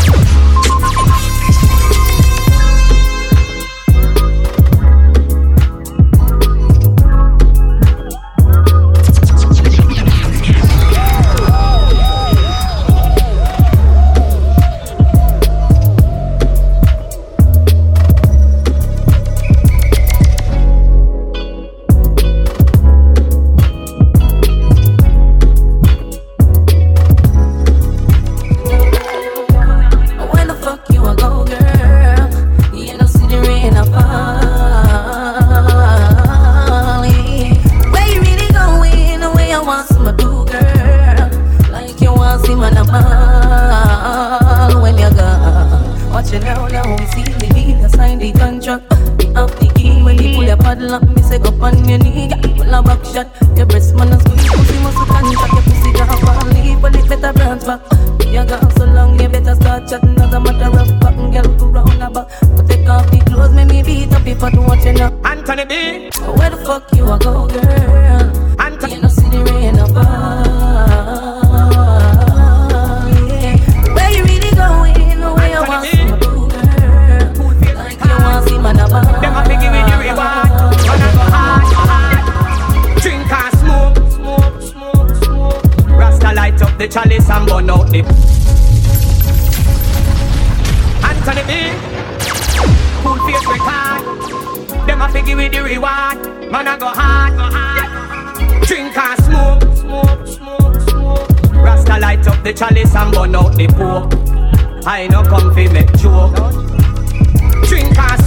I no come fi make joke. Drink and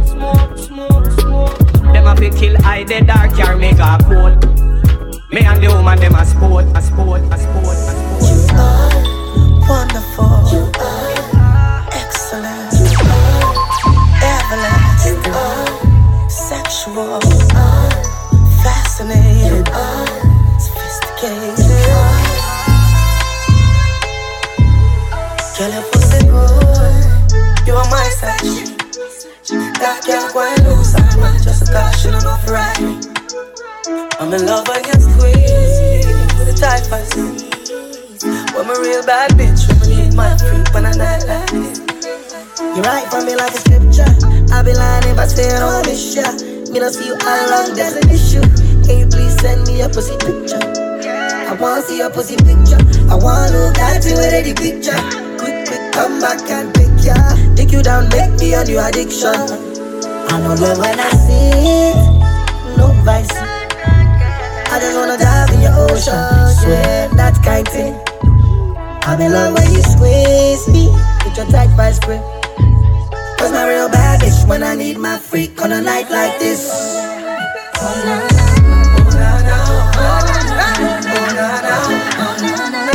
smoke. Them a fi kill I the dark car make a cold. Me and the woman them a sport. You are wonderful. You are excellent. You are everlasting. You are sexual. You are fascinating. You are sophisticated. Girl, your pussy good. You are my section. That girl quite loose. I'm not just a caution enough right. I'm in love when you squeeze. The type I see. When my real bad bitch, when I need my freak on a night like this. You write for me like a scripture. I be lying if I say I don't miss ya. Me don't see you all along, there's an issue. Can you please send me a pussy picture? I wanna see your pussy picture. I wanna look at you with the picture. Quick, come back and pick ya. Take you down, make me a new addiction. I know love when I see it, no vice. I just wanna dive in your ocean, swear that kind thing. I'm in love when you squeeze me, get your tight vice grip. Cause my real bad bitch when I need my freak on a night like this. Oh na na, oh na na, oh na na, oh na na, oh na na.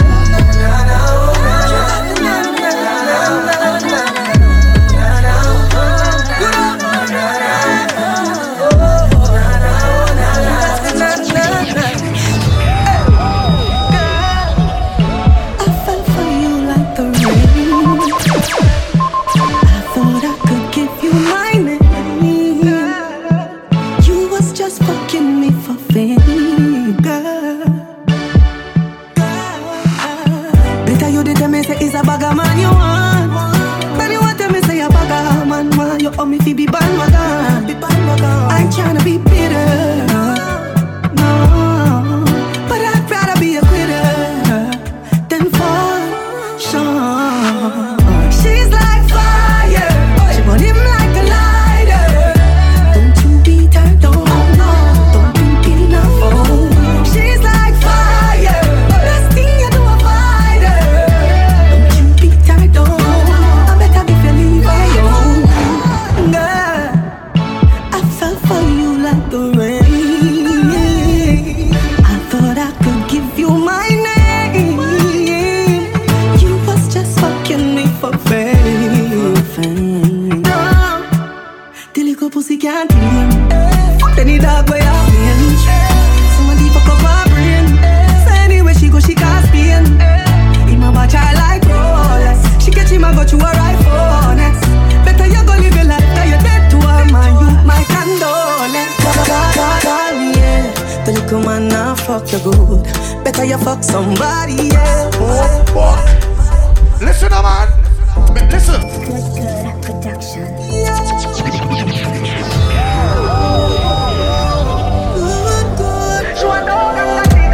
Oh, me fi be bandwagon. I ain't tryna be bitter, no. But I'd rather be a quitter than for sure. She's like fire, she burn him like a lighter. Don't you beat her, don't you beat her, oh. She's like fire, best thing you do a fighter. Don't you beat her, don't. I better be feeling for you. For you like the rain, I thought I could give you my name. You was just fucking me for fame. No, the little pussy can't hear. Fuck any dog way out in. Somebody fuck up my brain. So anyway she go, she can't spin. In my watch I like Rolex. She catch him, I got you a rifle next. Better you go live your life, cause you're dead to her, man. You my condolence. The little man now fuck you good. Better you fuck somebody else. Listen, man. Listen. Good production. She want a big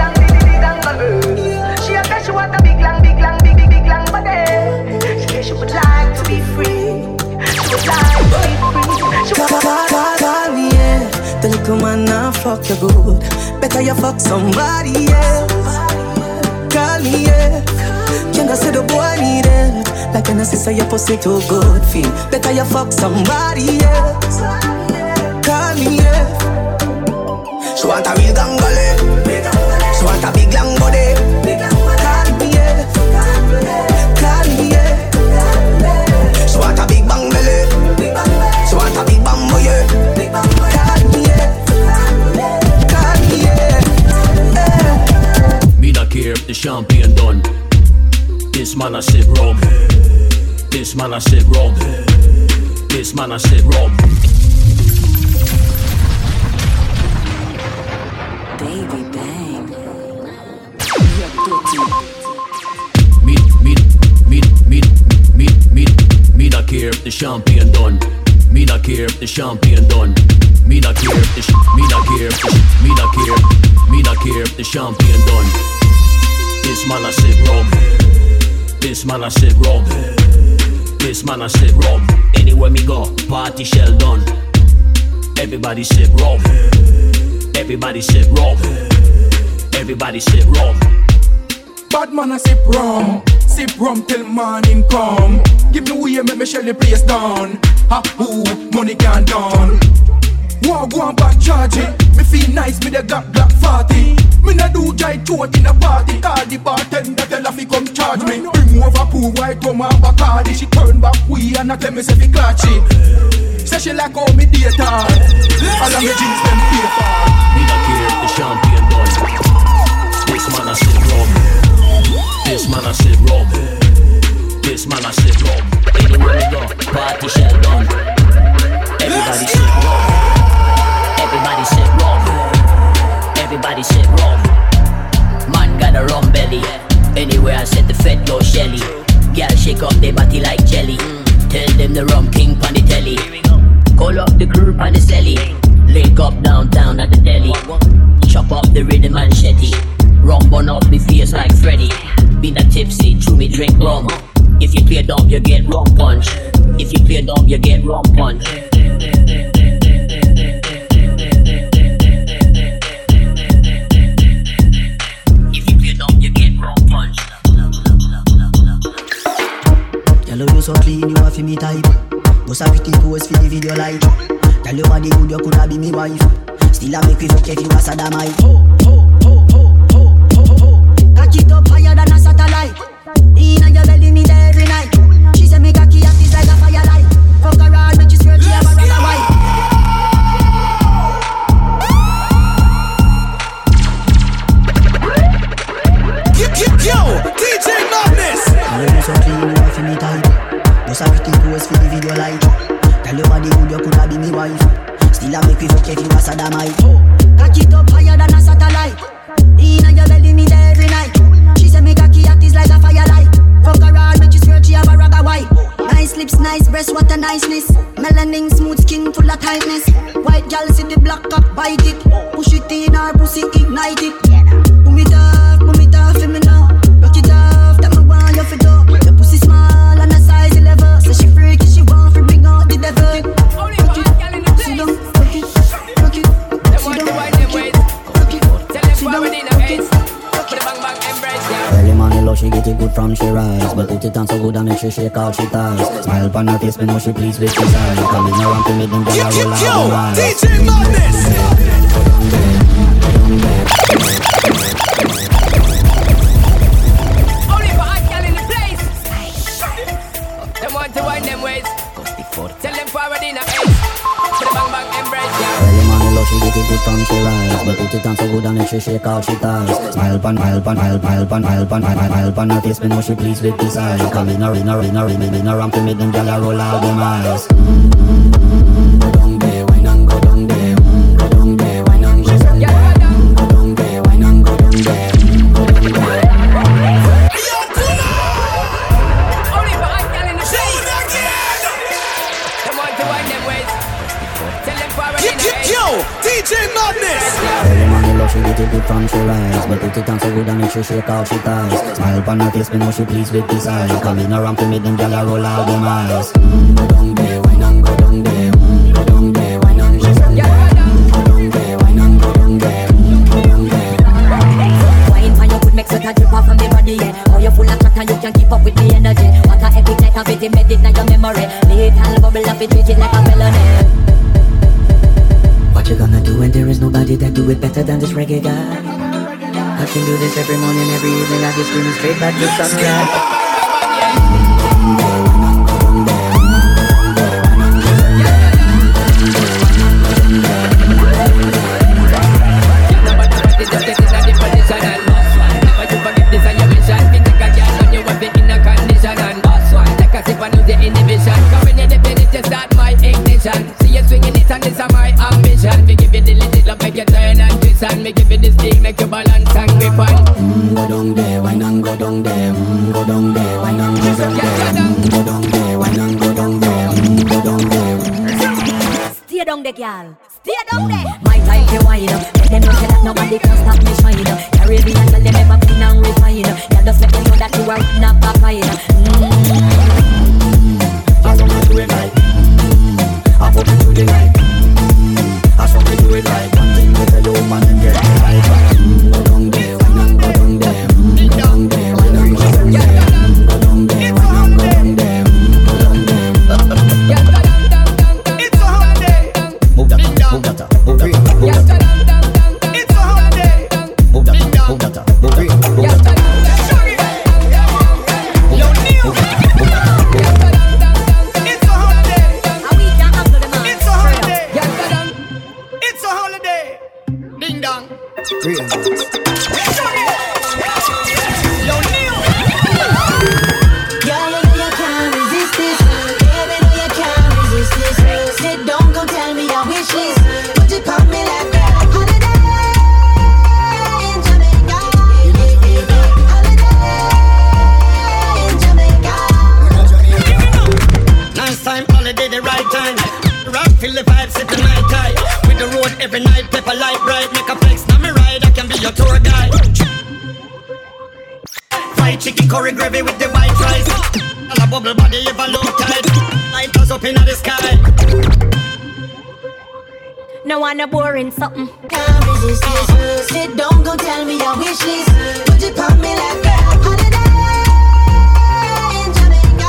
she a say she want a big long body. She say she would like to be free. She would like to be free. She call me, yeah. The little man now fuck you good. Better you fuck somebody else. Call me, yeah. Can I say the boy need it? Like an sister, your pussy too good feel. Better you fuck somebody else. Call me, yeah. She want a real gangale. She want a big long body. Call me, yeah. Call me, yeah. She want a big bang belly. She want a big bang boy, yeah. Call me, yeah. Call me, yeah. Me not care if the champagne done. This man I sit rum. This man I sit rum. This man I sit rum. Baby bang. Me not care if the champagne done. Me not care if the champagne done. Me not care if the me not care if the champagne done. This man I sit rum. This man I sit rum. This man I sit rum. Anywhere me go, party shell done. Everybody sip rum. Everybody sip rum. Everybody sip rum. Bad man I sip rum till morning come. Give me way, make me shell the place down. Ha who, money can't down. Go on back charge it. Me feel nice, me the got black 40. Me nah do giant throat in a party. Call the bartender, tell her fi come charge me. Bring over pool white rum and Bacardi. She turn back way and I tell me say fi clutch it. Say she like how me date her. All of me jeans them pay for. Me not care if the champagne done. This man I sip rum. This man I sip rum. This man I sip rum. Anywhere we go, party shell done. Everybody sip rum. Everybody sip rum. Everybody sip rum. Man got a rum belly. Anywhere I said the fed go Shelly. I'm the rum king on the telly. Call up the crew on the celly. Link up downtown at the deli. Chop up the rhythm and shetty. Rum bun up me face like Freddy. Been a tipsy, chew me drink rum. If you play dumb, you get rum punch. If you play dumb, you get rum punch. If you play dumb, you get rum punch. Hello, you so clean, you have me type. Bust a pretty pose for the video light. Tell your body good, you coulda be me wife. Still a make me fuck if you a sodomite. Cock it up higher than a satellite. Inna your belly, me there every night. She say me cocky up is like a firelight. Fuck around, make you swear she have a brother wife. Yo, DJ Madness. Hello, you so clean, you have me type. Bust a pretty pose for the video light. Tell your body good, you coulda be me wife. Still a make me fuck if you a sodomite. Cock it up higher than a satellite. Inna your belly, me there every night. She say me cocky act is like a firelight. Fuck around, make you swear she have a ragga white. Nice lips, nice breasts, what a niceness. Melanin, smooth skin, full of tightness. White girl see the black cock, bite it. Push it in her pussy, ignite it. Boom it off, for me now. Rock it off, that me want you for do. Your pussy small and a size 11. So she freaky, she want to bring out the devil. Rock it, sit down, rock it, rock it. Sit down, rock it, rock it. Sit down, rock it. Early morning love, she get it good from she rise. But put it on so good and make she shake out she ties. Smile upon her face, me know she pleased with his eyes. Coming around to me, them girl roll out the eyes. DJ Madness. Only for hot girl in the place. Them want to wind them ways. Tell them forward in a ace. For the bang bang embrace, yeah. Early morning love, she get it good from she rise. But put it on so good and make she shake out she ties. Smile upon her face, me know she pleased with his eyes. Coming around to me, them girl roll out them eyes. Go down there, wine and go down there. Go down there, wine and go down there. Go down there, wine and go down there. Go down there. Only for hot girl in the place. Them want to wind them ways. Tell them forward in a ace. Yo, DJ Madness. Early morning love, she get it good from she rise. But put it on so good and make she shake out she ties. Smile upon her face, me know she pleased with his eyes. Coming around to me, them gyal roll out them eyes. Go down there, wine and go down there. Go down there, wine and go down there. Go down there, wine and go down there. Go down there. Wine for your good make sweat a drip off from the body, yeah. How you full of chat and you can keep up with the energy. What a epic night of it, embedded in your memory. Little bubble of it, treat it like a felony. What you gonna do when there is nobody that do it better than this reggae guy? I can do this every morning, every evening. I just screaming straight back to sunrise. Me give you this thing, make you balance and grip on. Go down there, wine and go down there. Go down there, wine and go down there. Go down there, wine and go down there. Go down there. Stay down there, girl. Stay down there. My time to wine up. Let them know that nobody can stop me shine up. Caribbean and tell them ever clean and refine up. Girl, just make them know that you are not a fine. I wanna do it like. I hope you do it like. I saw me do it like. One thing with a low man and get right. Go down there, wine and go down there. Go down there, wine and go down there. Go down there, wine and go down there. Go down there. It's a holiday. Move that, move that, move that, move that. It's a holiday. Move that, move that, move that, move that. Time feel the vibe, sipping my tie. With the road every night, pepper light bright. Make a flex, now me ride, I can be your tour guide. Fried chicken curry gravy with the white rice. And a bubble body if I look tight. Light us up in the sky. No one a boring something. Can't resist this. Sit down, go tell me your wish list. Put it on me like that. Holiday in Jamaica.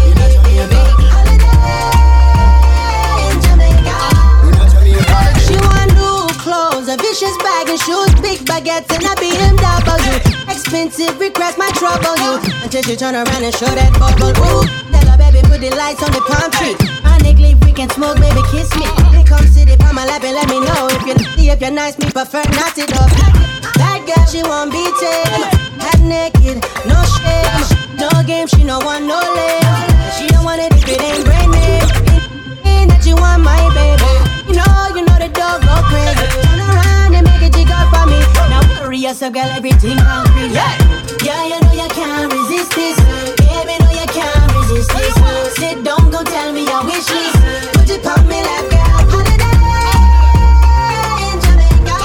Holiday in Jamaica. She want new clothes, a vicious bag and shoes, big baguettes and a BMW. Expensive, request my trouble you. Until she turn around and show that bubble. Ooh, tell her baby put the lights on the palm tree. Nick, we can smoke, baby, kiss me. They come sit up on my lap and let me know if you're nice, me prefer not it up. That girl, she won't be tamed. Half naked, no shame, no game, she no want no lame. She don't want it if it ain't brand name. Ain't that you want my baby. You know the dog go crazy. Turn around and make a jig up for me. Now worry yourself, girl, everything concrete. Yeah, you know you can't resist this. Baby, know you can't resist this. Sit down, go tell me your wish list. Put it on me like a holiday in Jamaica.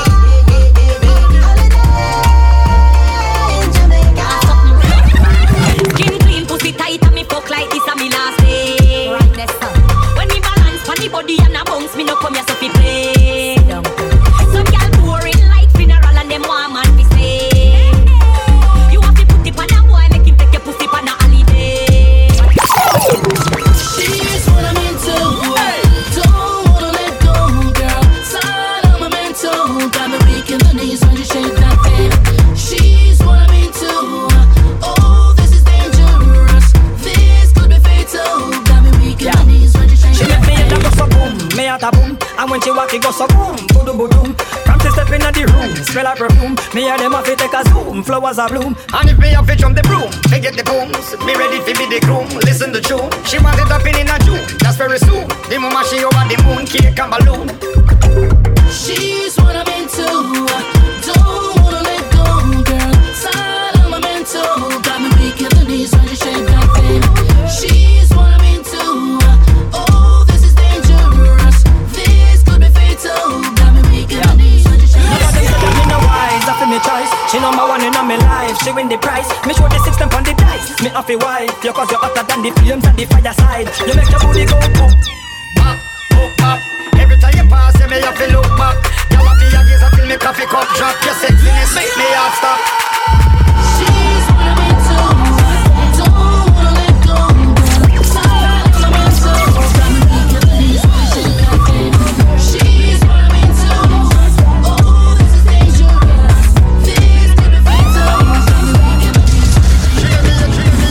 Holiday in Jamaica. Skin clean, pussy tight, and me fuck like this, and me last day. Right, that's up. When me balance funny body and a bounce, me no come here so fi play. Some girl boring like funeral and them want man fi say. You have to put it on a boy, make him take your pussy on a holiday. She's what I'm into. Don't wanna let go, girl. Side of my mental. Got me weak in the knees when you shake that thing. She's what I'm into. Oh, this is dangerous. This could be fatal. Got me weak in the knees when you shake she that thing. She make me thing. go so boom, me at a boom. And when she walk, it go so boom, boom, boom, boom. Come to step in the room, smell like perfume. Me and them have to take a zoom, flowers are bloom. And if me have to jump the broom, they get the booms. Me ready to be the groom, listen to tune. She want it up in a June, that's very soon. The moment she over the moon, cake and balloon. She's what I'm into. Don't wanna let go, girl. Side of my mental. Got me weak in the knees when you shake that thing. She's what I'm into. Oh, this is dangerous. This could be fatal. Got me weak in the knees when you shake that thing. Me no wise, I feel me choice. She number one in my life, she win the prize. Me show the 6 stamp on the dice. Me off a wife, you cause you're hotter than the flames at the fireside. You make your booty go boom, bop, boop, bop. Every time you pass, you may have to look back. You want me a gaze until me coffee cup drop. Your sexiness make me heart stop. She's what I'm into. Don't wanna let go, girl. Side of my mental. Got me weak in the knees when you shake that thing. She's what I'm into. Oh, this is dangerous. This could be fatal. Got me weak in the knees when you shake that thing.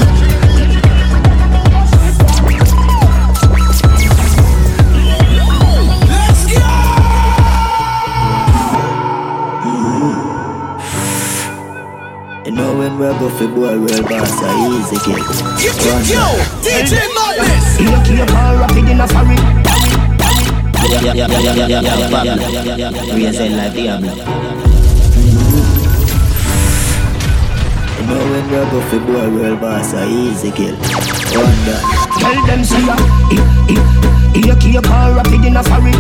You know when we're go for boy, real boss, I easy kid. Yo, DJ Madness. You keep all rapid in a hurry. Raise it like Diablo. You know when we're go for boy, real boss, I easy kid. Wonder. Tell them see ya. You keep all rapid in a hurry.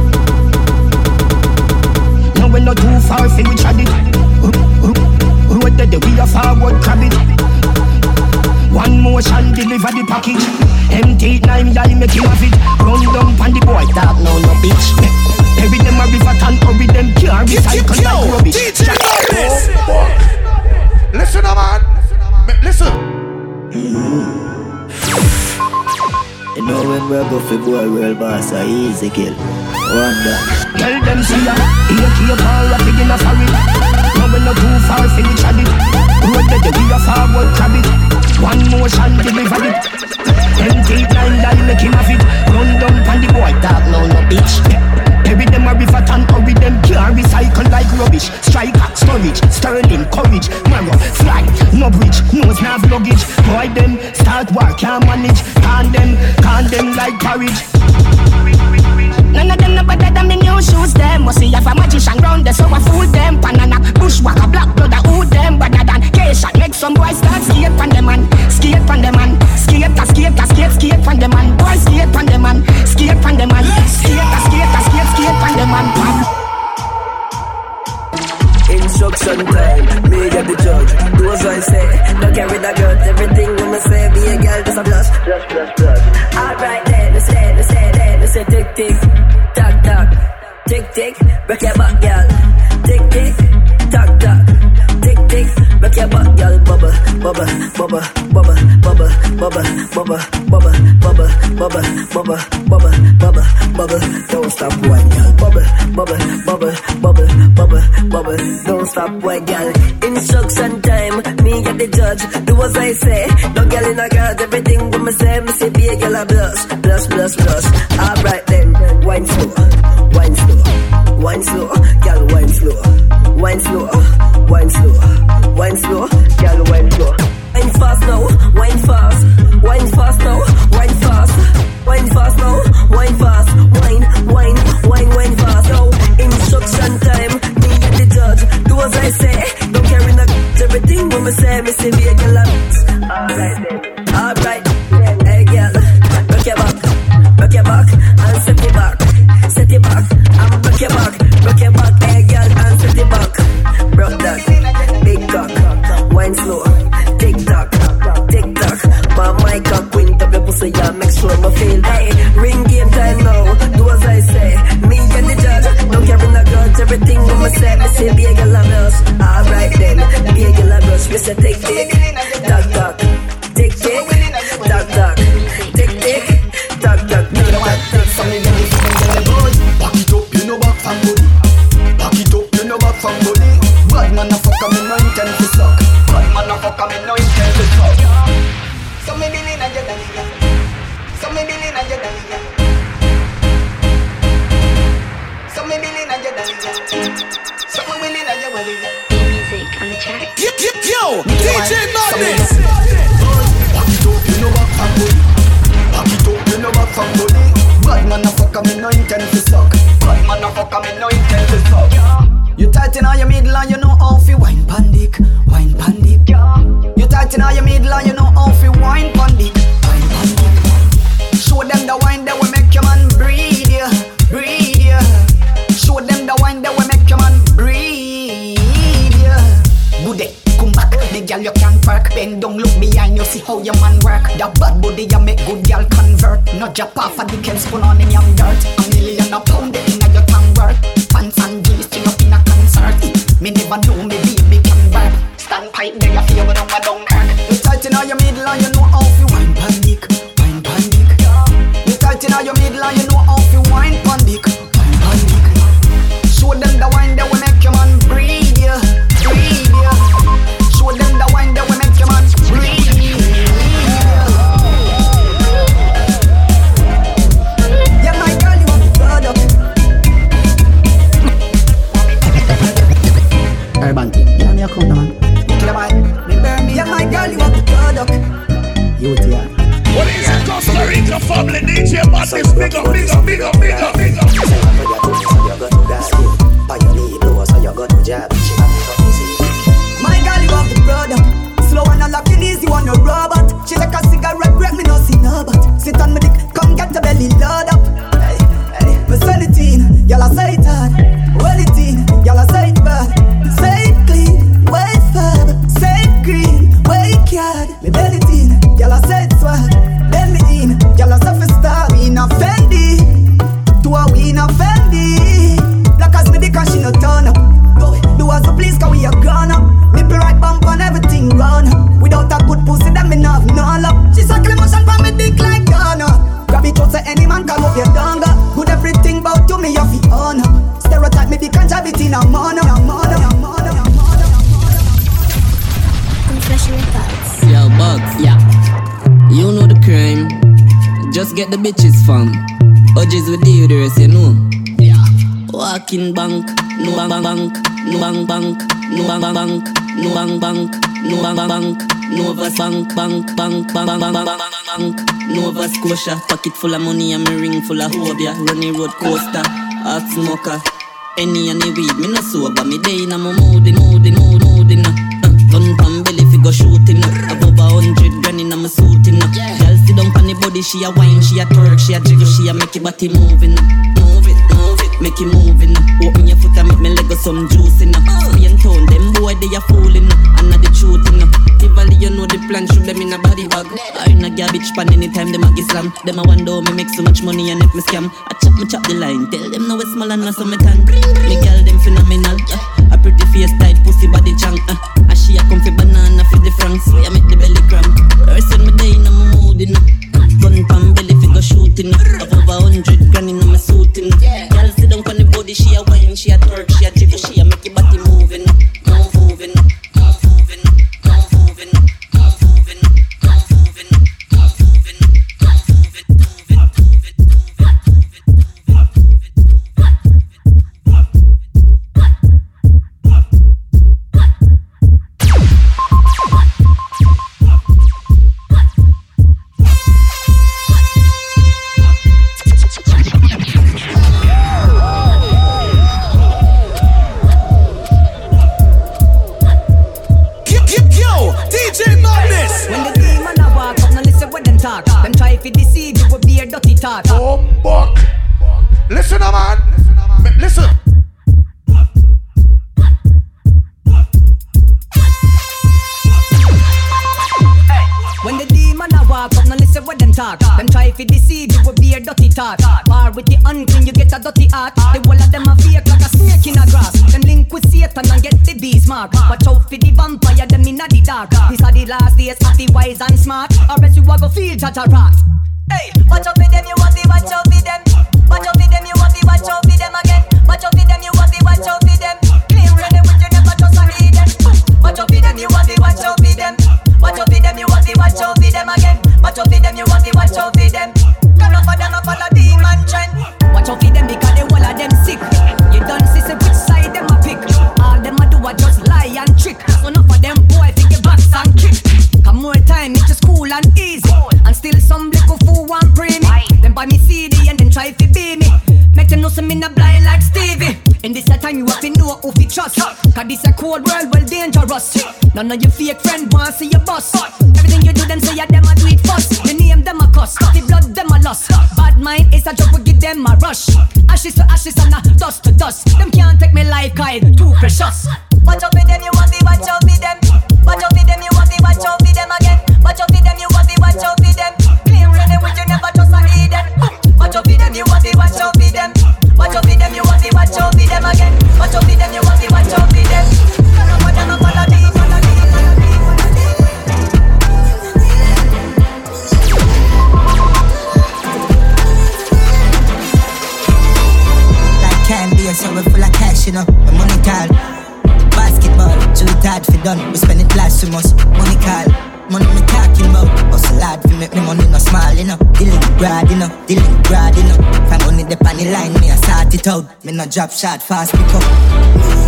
Now we're not too far from each other. Road that we a forward crab it. One motion deliver the package. Empty 9 y'all make him have it. Run down pan the boy talk now no bitch. Every them a river and hurry them can't recycle like rubbish. DJ Madness. Listen man. Listen. You know when we're go for boy, real boss, I easy kill. Wonder. Tell them see ya. You keep all rapid in a hurry. Now we're not too far from each other. Road that we a forward crab it. One motion deliver it. Empty 9 y'all make him have it. Run down pan the boy talk now no bitch. Every them a river and hurry them can't recycle like rubbish. Striker, storage, sterling, courage, marrow, fly, no bridge, nose nav luggage. Boy them start work can't manage. Can them like porridge. None of them no better than me new shoes them. Must see have a magician round there so I fool them. Panana, bushwalker, black blood, I who them. Better than K-shot, make some boys start skate pan them man. Skate pan them man. Skate pan them man. Boy skate pan them man. Skate pan them man. Skate instruction time. Me get the judge. Do as I say. Don't carry the guns. Everything when I say, be a girl, just a blush. Alright then, let's say, tick tick, tock tock, tick tick, break your back, girl. Tick tick, tock tock, tick tick, break your back, girl. Bubba, bubba, bubba, bubba, bubba, bubba, bubba, bubba, bubba, bubba, bubba, bubba, bubba, bubba. Don't stop, white girl. Bubba, bubba, bubba, bubba, bubba, bubba. Don't stop, white girl. Instruction time, me get the judge. Do as I say. No girl in a guard, everything when me say, me say be a girl a blush, blush, blush, blush. Alright then, wine slow, wine slow, wine slow, girl wine slow, wine slow, wine slow, wine slow, girl wine slow. Wine fast now, wine fast, wine fast now, wine fast, wine fast now, wine fast, wine fast now. Instruction time, me get the judge. Do as I say, don't carry no everything when me say be a girl a blush. Alright then, alright. Hey girl, rock your back, and set it back, and rock your back, hey girl, and set it back. Rock that, big cock, wine slow, tick tock, my mic up, wind up your pussy, yeah, make sure my feel. Hey, ring game time now, do as I say, me and the judge, don't carry no guns, everything when me say be a girl a blush. Alright then, be a girl a blush, we say tick tick, tock tock, tick tick, tock tock. Back it up, you know back from body. Back it up, you know back from body. Bad man a fuck, me no intent to suck. Bad man a fuck, me no intent to suck. So me dealing a jet and so me dealing a jet and so me dealing a jet and so me willing a jet and music on the track. Yo, DJ Madness. Back it up, you know back from body. Back it up, you know back from body. Bad man a fuck, me no intent to suck. Bad man a fuck, me no intent to suck. You tight in all your middle and you know how fi wine pandic, wine pandic. You tight in all your middle and you know how fi wine pandic, wine pandic. Show them the wine that will make your man breathe, yeah, breathe, yeah. Show them the wine that will make your man breathe, yeah. Bude, come back, the girl you can't park. Bend down, look behind you, see how your man work. The bad body you make good girl convert. No drop off of the can spoon on in your dirt. A million a pound in your tongue work. Pants and jeans string up in a concert. Me never know me baby can work. Stand pipe there you feel when I'm a Dunkirk. You tight in all your middle and you know how fi wine pandic, wine pandic. You tight in all your middle and you know how fi wine pandic, wine pandic. Show them the wine that will make your man breathe, yeah, breathe, yeah. Show them the wine that will make your man breathe. Urban thing. You know me a come man. Yeah, my girl, you want the product. Youth, yeah. What is it? Costa Rica family DJ Madness. Big up. My girl, you have the product. Slow and unlocking easy on your robot. She like a cigarette break, me no see no but. Sit on me dick, come get the belly load up. Hey, hey, me sell it in, y'all a say it hard. Well it in, y'all a say it bad. Say it clean, way fab. Say it green, way card. Me belly it in, y'all a say it swag. Then me in, y'all a surface star. We in a Fendi, to a we in a Fendi. Black as me dick and she no turn up. Do as you please, cause we are gone up. Nipple right bump on everything run. Without a good pussy, then me not have no love. She suckle motion for me dick like Ghana. Grab it out so any man can move your donga. Good everything about you, me you fi honor. Stereotype me dick and jab it in a mono. Yo, Bugs, yeah. You know the crime. Just get the bitches from OGs with deodorants, you know. Yeah. Walking bank, no bank, no bank, no bank, no bank, no bank, Nova bank, Nova Scotia. Pocket full of money and my ring full of hobia. Running road coaster, hot smoker. Any weed, me no sober. Me day in a mood. Gun pan belly fi go shooting up. Above 100 grand in a me suiting up. Girl sit down pon the body, she a wine, she a twerk, she a jiggle, she a make your body moving up. Move it, make it moving up. Open your foot and make me leg go got some juice in Spain town, them boy they a fooling and not the truth in Tivoli, you know the plan, shoot them in a body bag. I in a garbage pan anytime them a get slam. Them a wonder me make so much money and if me scam. I chop the line, tell them no it's small and not so me can. Me girl them phenomenal, a pretty face tight pussy body chunk. And she a comfy banana for the francs, so I make the belly cramp. Person me day in a mood in gun pan belly figure shooting. Of over 100 grand in my suit in. Girl sit down on the body, she a wine, she a twerk, she a jiggle, she a make your body moving, moving. Them try to deceive you with beer dirty talk. Buck. Listen, man. Listen. When the demon a walk up, now listen what them talk. Them try to deceive you with beer dirty talk. Bar with the unclean, you get a dirty heart. The whole of them a fake like a snake in a grass. Them link with Satan and get the beast mark. Watch out for the vampire, them in the dark. These are the last days of the wise and smart. Or else you a go feel judge a rat. Hey, watch out for them, you want to watch out for them. Watch out for them, you want to watch out for them again. Watch out for them, you want to watch out for them. Clean ready with you never trust a heathen. Watch out for them, you want to watch out for them. Watch out for them, you want to watch out for them again. Watch out for them, you want to watch out for them. Come up for them, up on the demon trend. Watch out for them because the whole of them sick. You don't see which side them a pick. All them a do a just lie and trick. So enough of them boy think your backs and kick. Come more time, it's just cool and easy. And still some little fool want pray me. Then buy me CD and then try to be me. Make them know some in a blind like Stevie. In this time you have to know who fi trust. Cause this a cold world, well dangerous. None of your fake friend want see your boss. Everything you do them say ya them a do it first. You name them a cuss, the blood them a loss. Bad mind is a joke, we give them a rush. Ashes to ashes and a dust to dust. Them can't take me life, cause it's too precious. Watch out for them, you want to watch out for them. Watch out for them, you want to watch out for them again. Watch out for them, you want to watch out for them. Clean ready with you never trust a heathen. Watch out for them, you want to watch out for them. Watch out for them, you want to watch out for them again. Watch out for them, you want to watch out for them. Like candy, so we're full of cash, you know. My money call. Basketball, too hard for done. We spend it last so much. Money call. Money me talking about. Hustle hard for make me money no small, you know. Dealing broad, you know. Dealing broad, you know. If I'm money the on the line, me I sort it out. Me no drop shot fast, pick up.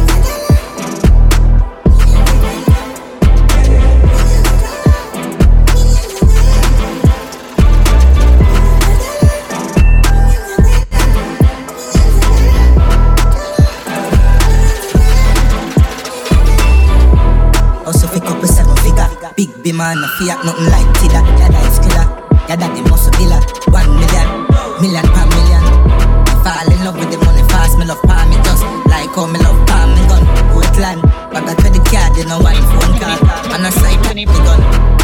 Big B man, a fiat, nothing like Tida. Yada is killer, yada the muscle killer. 1 million, million per million. I fall in love with the money fast, me love palm it just like how me love palm me gun. Portland, but I credit card, you know why phone call. And I side the gun.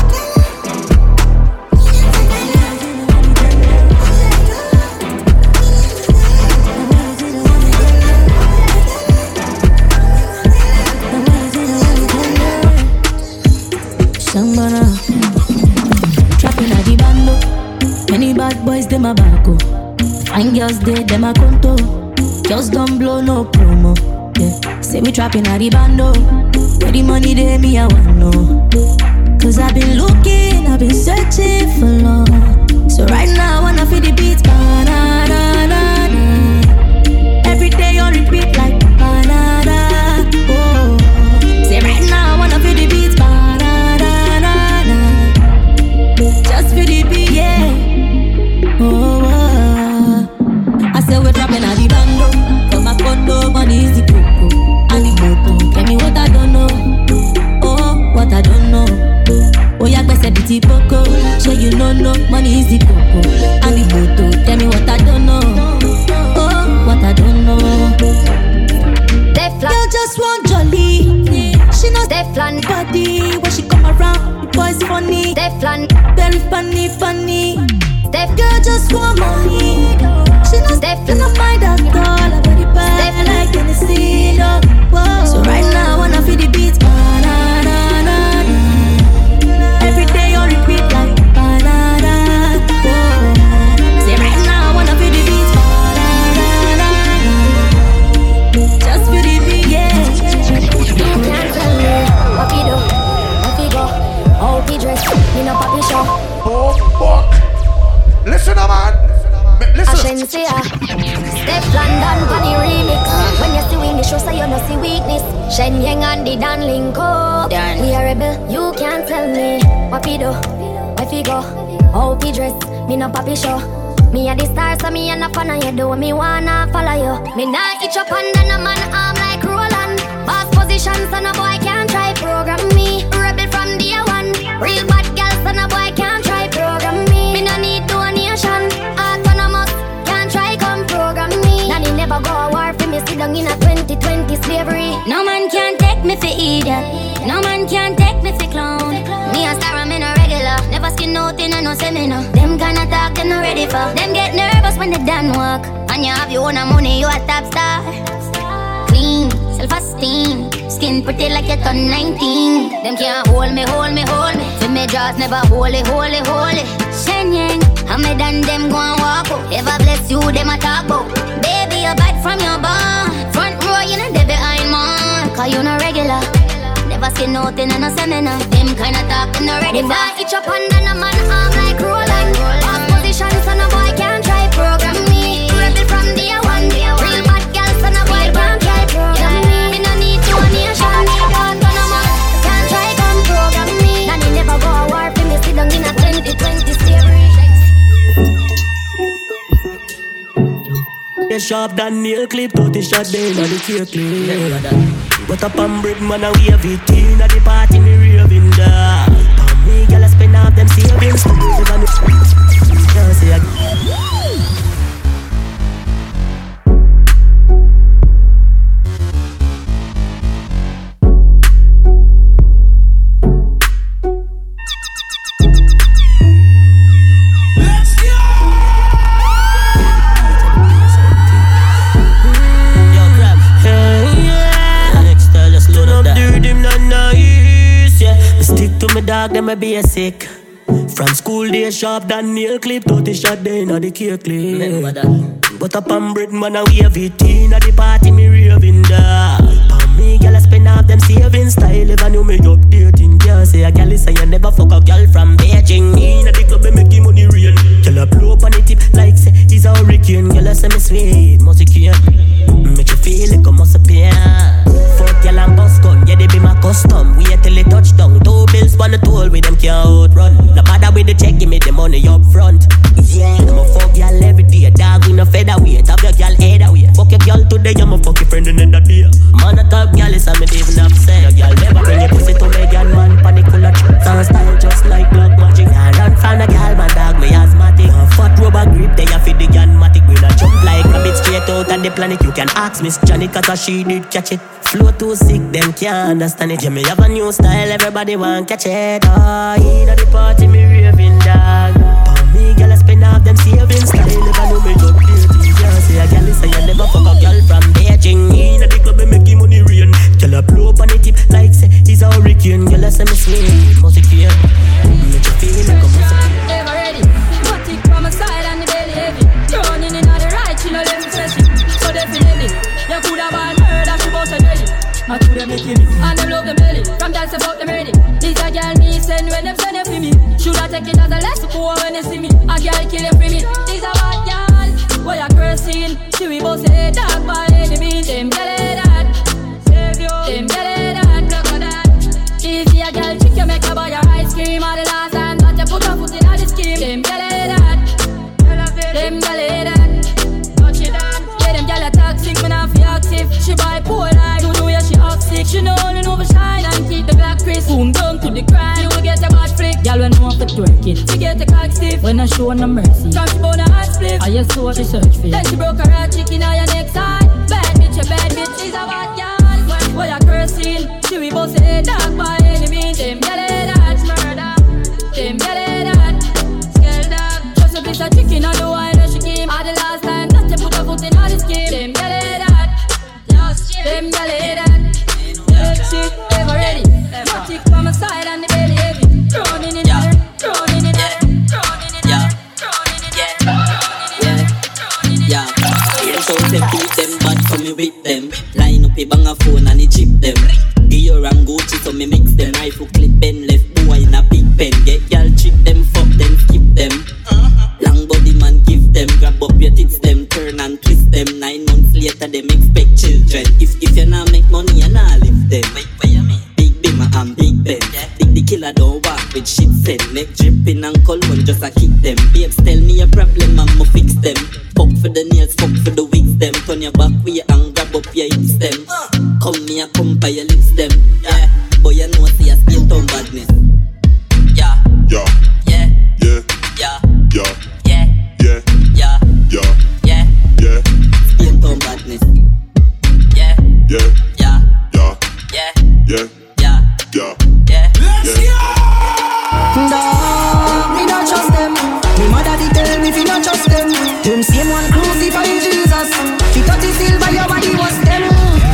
Sambana, trapping at the bando. Many bad boys, them a barco. Fine girls, them a conto. Girls don't blow no promo. Yeah, say we trapping at the bando. Where the money there, me I want know. Cause I've been looking, I've been searching for long. So right now I wanna feel the beats. Ba-da-da-da-da. Every day on repeat like ba-da-da. Oh, say right now I wanna feel the beats. Just for the beat, yeah. Oh, I said we're dropping at the bando. For my condo, money is the coco. And the moto, tell me what I don't know. Oh, what I don't know. Oh, yeah, I said the poco. Sure you know, no, money is the coco. And the moto, tell me what I don't know. Teflon body when she come around, the boys funny. Teflon, very funny, funny. Tef girl just want money. She knows Teflon not mind at all. I body bad like Tennessee. So right now I wanna feel the beats. Every day on repeat like banana. Say right now I wanna feel the beats. Just feel the beat, yeah. You can't tell me what we do, what we go, how we dress, me no papi show. Oh fuck! Listen, man. Listen. Ashensia, Step London for the remix. When you see wing, the show say you no see weakness. Shen Yang and the Dan Linko. We are rebel. You can't tell me what we do, where we go, how we dress. Me no papi show. Me a the star, so me a no fan of you. Do me wanna follow you. Me nah itch up under no man arm like Roland. Boss position, so no boy can't try program me. Rebel from day one. Real bad girl, so no boy can't try program me. Me no need donation. Autonomous, can't try come program me. Nanny never go a war for me. Sit down in a 2020 slavery. No man can take me for idiot. No man can take me for clown. Me a star, I'm in a regular. Never skin out in a no seminar. Them kinda talk, they not ready for. Them get nervous when they done work. And you have your own money, you a top star. Clean, self-esteem. Skin pretty like you turn 19. Them can't hold me, hold me, hold me. Feel me jaws never holy, holy, holy. Shen Yang, how me done them go and walk out. Ever bless you, them a talk about. Baby, you bad from your barn. Front row, you know they behind man. Cause you no regular. Never seen nothing in a seminar. Them kinda talking already. If I itch up under no man arm like Roland. Off position, so no boy can't try program me. Rebel from day one. Real bad girl, so no boy can't try program me. Me no need donation. Autonomous, can't try come program me. Nanny never go a war for me. Sit down in a 2020 slavery. Yeah, sharp than nail clip, 30 shot day, now the cake clean. What up on bread, man, and we have it in at the party, me raving dog. Palm me, girl, I spend half them savings. Can't say to me dog, them a basic. From school day sharp than nail clip, 30 shot day inna the cake clip. But up on bread man and we have it in at the party, me raving dog. Palm me, girl, I spend half them savings. Style if I knew me updating. Can't say a girl is say you never fuck a girl from Beijing. Inna the club, me make him money rain. Girl, I blow up on the tip like say he's a hurricane. Girl, I say me sweet, must you make you feel like a must appear. Fuck girl and bust gun, yeah they be my custom. Wait till it touch down, 2 bills on the toll with them can't outrun. No bother with the check, give me the money up front. Yeah, I'm a fuck girl every day, dog with no featherweight. Have your girl head away. Fuck your girl today, I'm a fuck your friend another day. Man a top girl is a me even upset. Your girl never bring your pussy to me, girl man. Panic full of tricks and style just like black magic. Nah, run from the girl, man dog, me asthmatic. Fat rubber grip, they a fit the gunmatic. We not jump like rabbit straight out of the planet. You can ask Miss Johnny, cause she did catch it. Flow too sick, them can't understand it. Yeah, me have a new style, everybody want catch it. Oh, inna the party, me raving dog. Palm me, girl, I spend half them savings. Style if I know me up dirty. Can't say a girl is say you never fuck a girl from Beijing. Inna the club, me make him money rain. Girl, I blow up on the tip like say he's a hurricane. Girl, I say me sweet, must you care. Make you feel like a must have. Ever ready? Put it from a side and the belly heavy. Turning in on the right, you know let me fresh it. So definitely, you could have been murder, she bought a jelly. I could have make it. And them love the belly. From dance about them ready. This a girl me send when them send it for me. Should I take it as a lesson for when they see me? A girl kill it for me. This a bad girl. Boy a cursing. She we both say dog by any means. Them girl that. Them girl that. Look at that. If you a girl chick you make her buy your ice cream. All the last time that you put her foot in all the scheme. Them girl that. Them girl that. Touch it down. Yeah them girl a toxic. Me not feel active. She bipolar. She up sick, she know only know shine and keep the black crisp. Boom down to the grind, you will get a bad flick. Y'all when know for twerk it, she get a cock stiff. When I show no mercy, come she bone a hot split. I just saw she search for. Then she broke her heart, chicken on your neck side. Bad bitch, she's a bad girl. Boy a cursing, she we both say dark bad. them gyal head and she ever ready. Matic from my side and the belly heavy. Drowning in her, drowning in her, drowning in her, drowning in her. Yeah. So them beat them bad so me whip them. Line up a bang a phone and it chip them. Dior and Gucci so me mix them. Rifle clip Ben left boy in a big pen. Get y'all trick them, fuck them, skip them. Long body man give them. Grab up your tits them, turn and twist them. 9 months later them expect children. If you not make money you not live them. Wait, what you mean? Big Bimmer and Big Ben. The killer don't walk with shit send. Neck dripping and cologne just a kick them. Babes tell me a problem I'ma fix them. Fuck for the nails, fuck for the wigs them. Turn your back way and grab up your hips them. Come me a come by your lips them. Yeah, boy you know see a skin tone badness. Yeah, yeah, yeah, yeah, yeah, yeah, yeah, yeah, yeah, yeah, yeah, yeah, skin tone badness. Yeah, yeah, yeah, yeah, yeah, yeah, yeah, yeah, yeah. Let's go! Dog, me not trust them. Me mother did tell me fi not trust them. Them same one crucify Jesus. Fi cut his silver your body was them.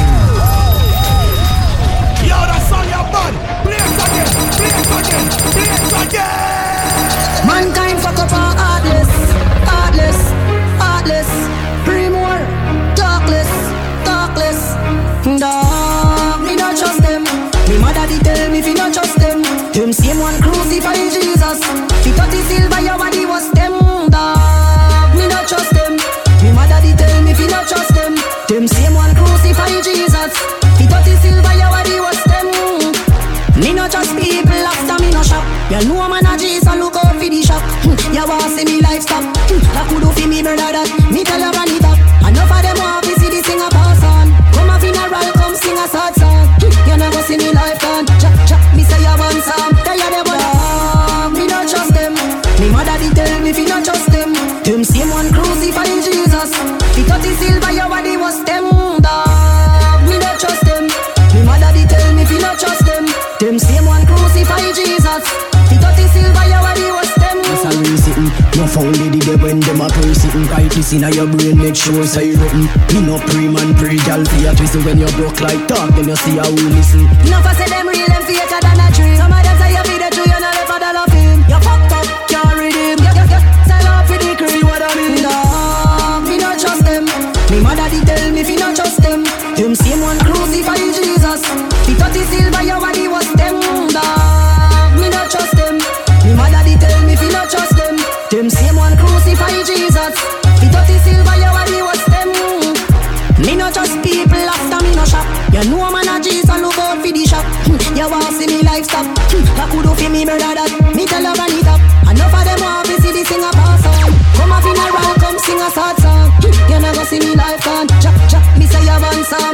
Yo, that song you're bad. Play it again, play it again, play it again. Mankind fuck up our heartless, heartless, heartless. Pray more, talkless, talkless. Dog, me not trust them. Me mother did tell me fi not trust them. Them same one crucify Jesus. Fi cut his silver your body was them. Dog, me not trust them. Me mother did tell me fi not trust them. Them same one crucify Jesus. Fi cut his silver your body was them. Me not trust people after me no shop. You know man a Jesus look out for the shop. You want see me life stop. I could do for me brother that. Me tell you run it up. Enough of them want to see the singer pass on. Come a funeral, come sing a sad song. You never see me life gone. Me say you want some. Tell you them what. Me not trust them. Me mother did tell me fi not trust them. Them same one crucify Jesus. Fi cut his silver your body was them. Dog, me not trust them. Me mother did tell me fi not trust them. Them same one crucify Jesus. Fi cut his silver your body was them. It's a real sitting. No found lady there when them a pray sitting. Write this in your brain, make sure it's written. Me no pray man, pray gal for your twist. When you broke like talk, then you see how we listen. Enough I say them real, them faker than a tree. Some of them say you be the true, you know left a dollar fame. You fucked up, can't redeem. You sell out for the cream. See what I mean? Dog, me not trust them. Me mother did tell me fi not trust them. Them same one crucify Jesus. Fi cut his silver your body was them. Dog, me not trust them. Me mother did tell me fi not trust them. Them same one crucify Jesus. Fi cut his silver your body was them. Me not trust people after me no shop. You know man a Jesus look out for the shop. You want see me life stop. I could do for me brother that. Me tell you run it up. Enough of them want to see the singer pass on. Come a funeral, come sing a sad song. You never see me life gone. Me say you want some.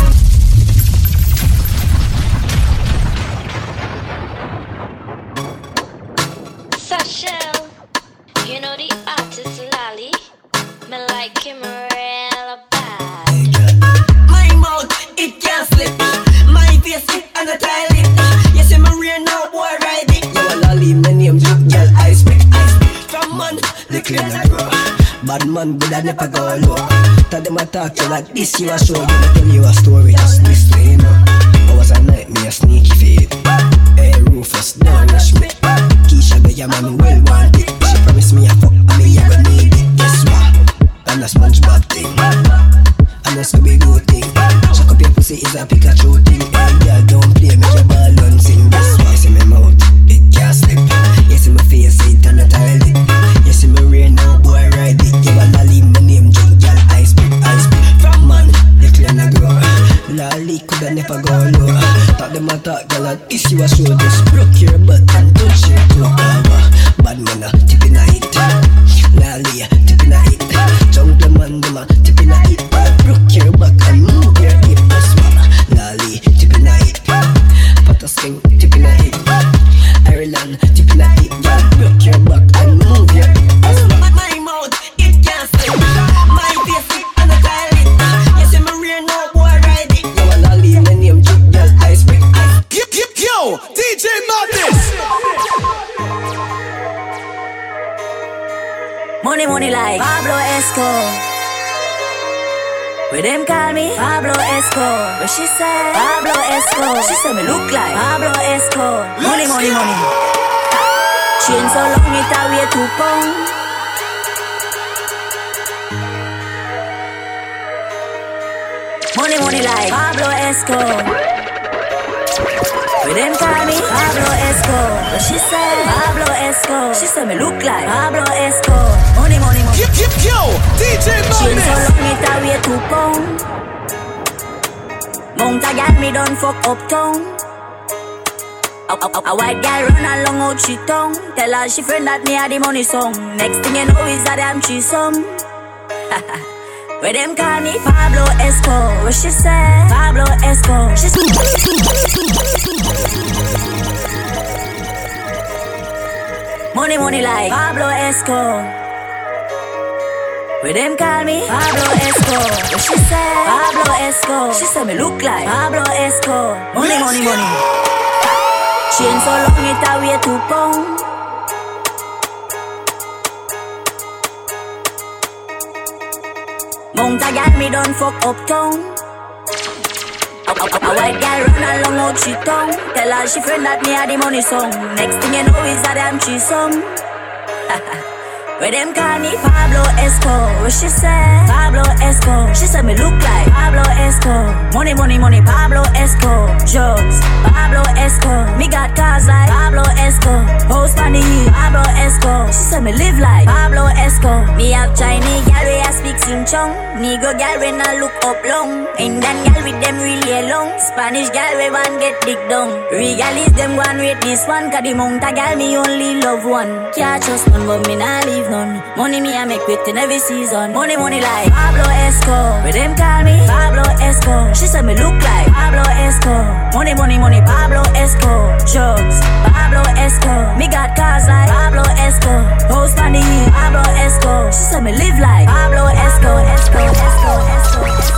Sashel, you know the artist Lolly. Me like him real bad. My mouth, it can't slip. My face, it on the toilet. Yes, I'm a real now, boy, ride it. You a lolly, my name Jack, girl, I speak. From man, the clean I grow. Bad man, good I never go low. Tell them I talk to you like this, you a show. You I tell you a story, just this way, you know. I was a night, me a sneaky fade. Hey, Rufus, don't rush me. Keisha, the your man well want it. She promised me a fuck, and me ever need it. Guess what? I'm a SpongeBob thing. I'm a Scooby-Doo thing. Chuck up your pussy is a Pikachu thing. Hey, girl, don't play, make your ball and sing. Guess what? See my mouth, it can't slip. You see my face, it on the toilet. You see my rain, now boy, ride it. You a lolly, my name, Junk, girl, I speak. From man, the clean I grow. Lolly coulda never go low. Talk them a talk, girl, and this you a show. Just broke your butt and touch your toe. Bad man a tip in a hit. Lolly a tip in a hit. Jungle man dem a tip in a hit. Broke your back and move your hip. That's what Lolly tip in a hit. Potasking tip in a hit. Ireland tip in a hit. Broke your back and move your hip. That's what my mouth, it can't slip. My face, it on the toilet. Yes, I'm a real now, boy, ride it. You a lolly, my name Jack, girl, I speak. Yo, DJ Madness. Money like Pablo Esco. Where them call me Pablo Escobar. Where she say Pablo Escobar. She say me look like Pablo Escobar. Money, money, money. Chain so long it a weigh 2 pounds. Money, money like Pablo Escobar. Where them call me Pablo Escobar. But she say Pablo Escobar. She say me look like Pablo Escobar. Money, money, money. Yo, DJ Madness. Chain so long it a weigh 2 pounds. Mount a gal me done fuck uptown. A white gal run along out she tongue. Tell her she friend that me a the money song. Next thing you know is a damn threesome. Where them call me Pablo Escobar. What she say? Pablo Escobar. She say money, money like Pablo Escobar. Where them call me Pablo Escobar. What she say? Pablo Escobar. She say me look like Pablo Escobar. Money, money, money. Chain so long it a weigh 2 pounds. Mount a gal me done fuck uptown. A white gal run along out she tongue. Tell her she friend that me a the money song. Next thing you know is a damn threesome. Where them call me Pablo Escobar. What she say? Pablo Escobar. She say me look like Pablo Escobar. Money, money, money, Pablo Escobar. Drugs, Pablo Escobar. Me got cars like Pablo Escobar. House on the hill, Pablo Escobar. She say me live like Pablo Escobar. Me have Chinese gal we a speak Sing Chong. Negro gal we not look up long. Indian gal with them really long. Spanish gal we want get dick down. Regalis them one rate this one. Cause the mount a gal me only love one. Can't trust none but me nah leave none. Money me I make with in every season. Money, money like Pablo Escobar. Where them call me Pablo Escobar. She say me look like Pablo Escobar. Money, money, money, Pablo Escobar. Drugs, Pablo Escobar. Me got cars like Pablo Escobar. House on the hill, Pablo Escobar. She say me live like Pablo Escobar. Escobar, Escobar, Escobar, Escobar.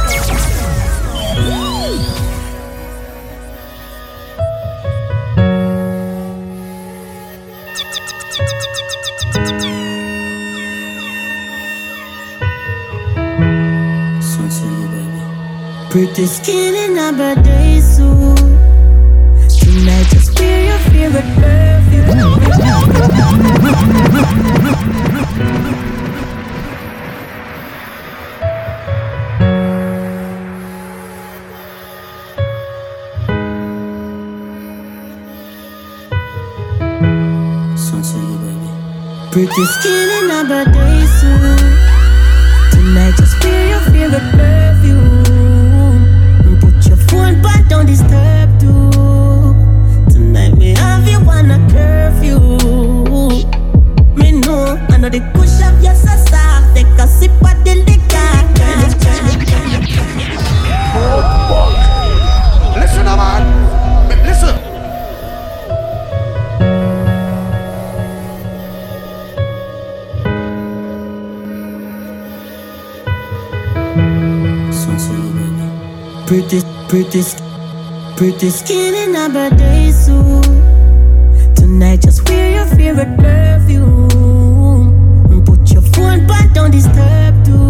Pretty skin in a birthday suit. Tonight just wear your favorite perfume. Pretty skin in a birthday suit. Tonight just wear your favorite perfume. Phone but don't disturb too. Tonight me have you on a curfew. Me know I know the push up your soft. Take a sip of the liquor. Listen, man. Listen. Pretty skin in a birthday suit. Tonight just wear your favorite perfume. Put your phone but don't disturb too.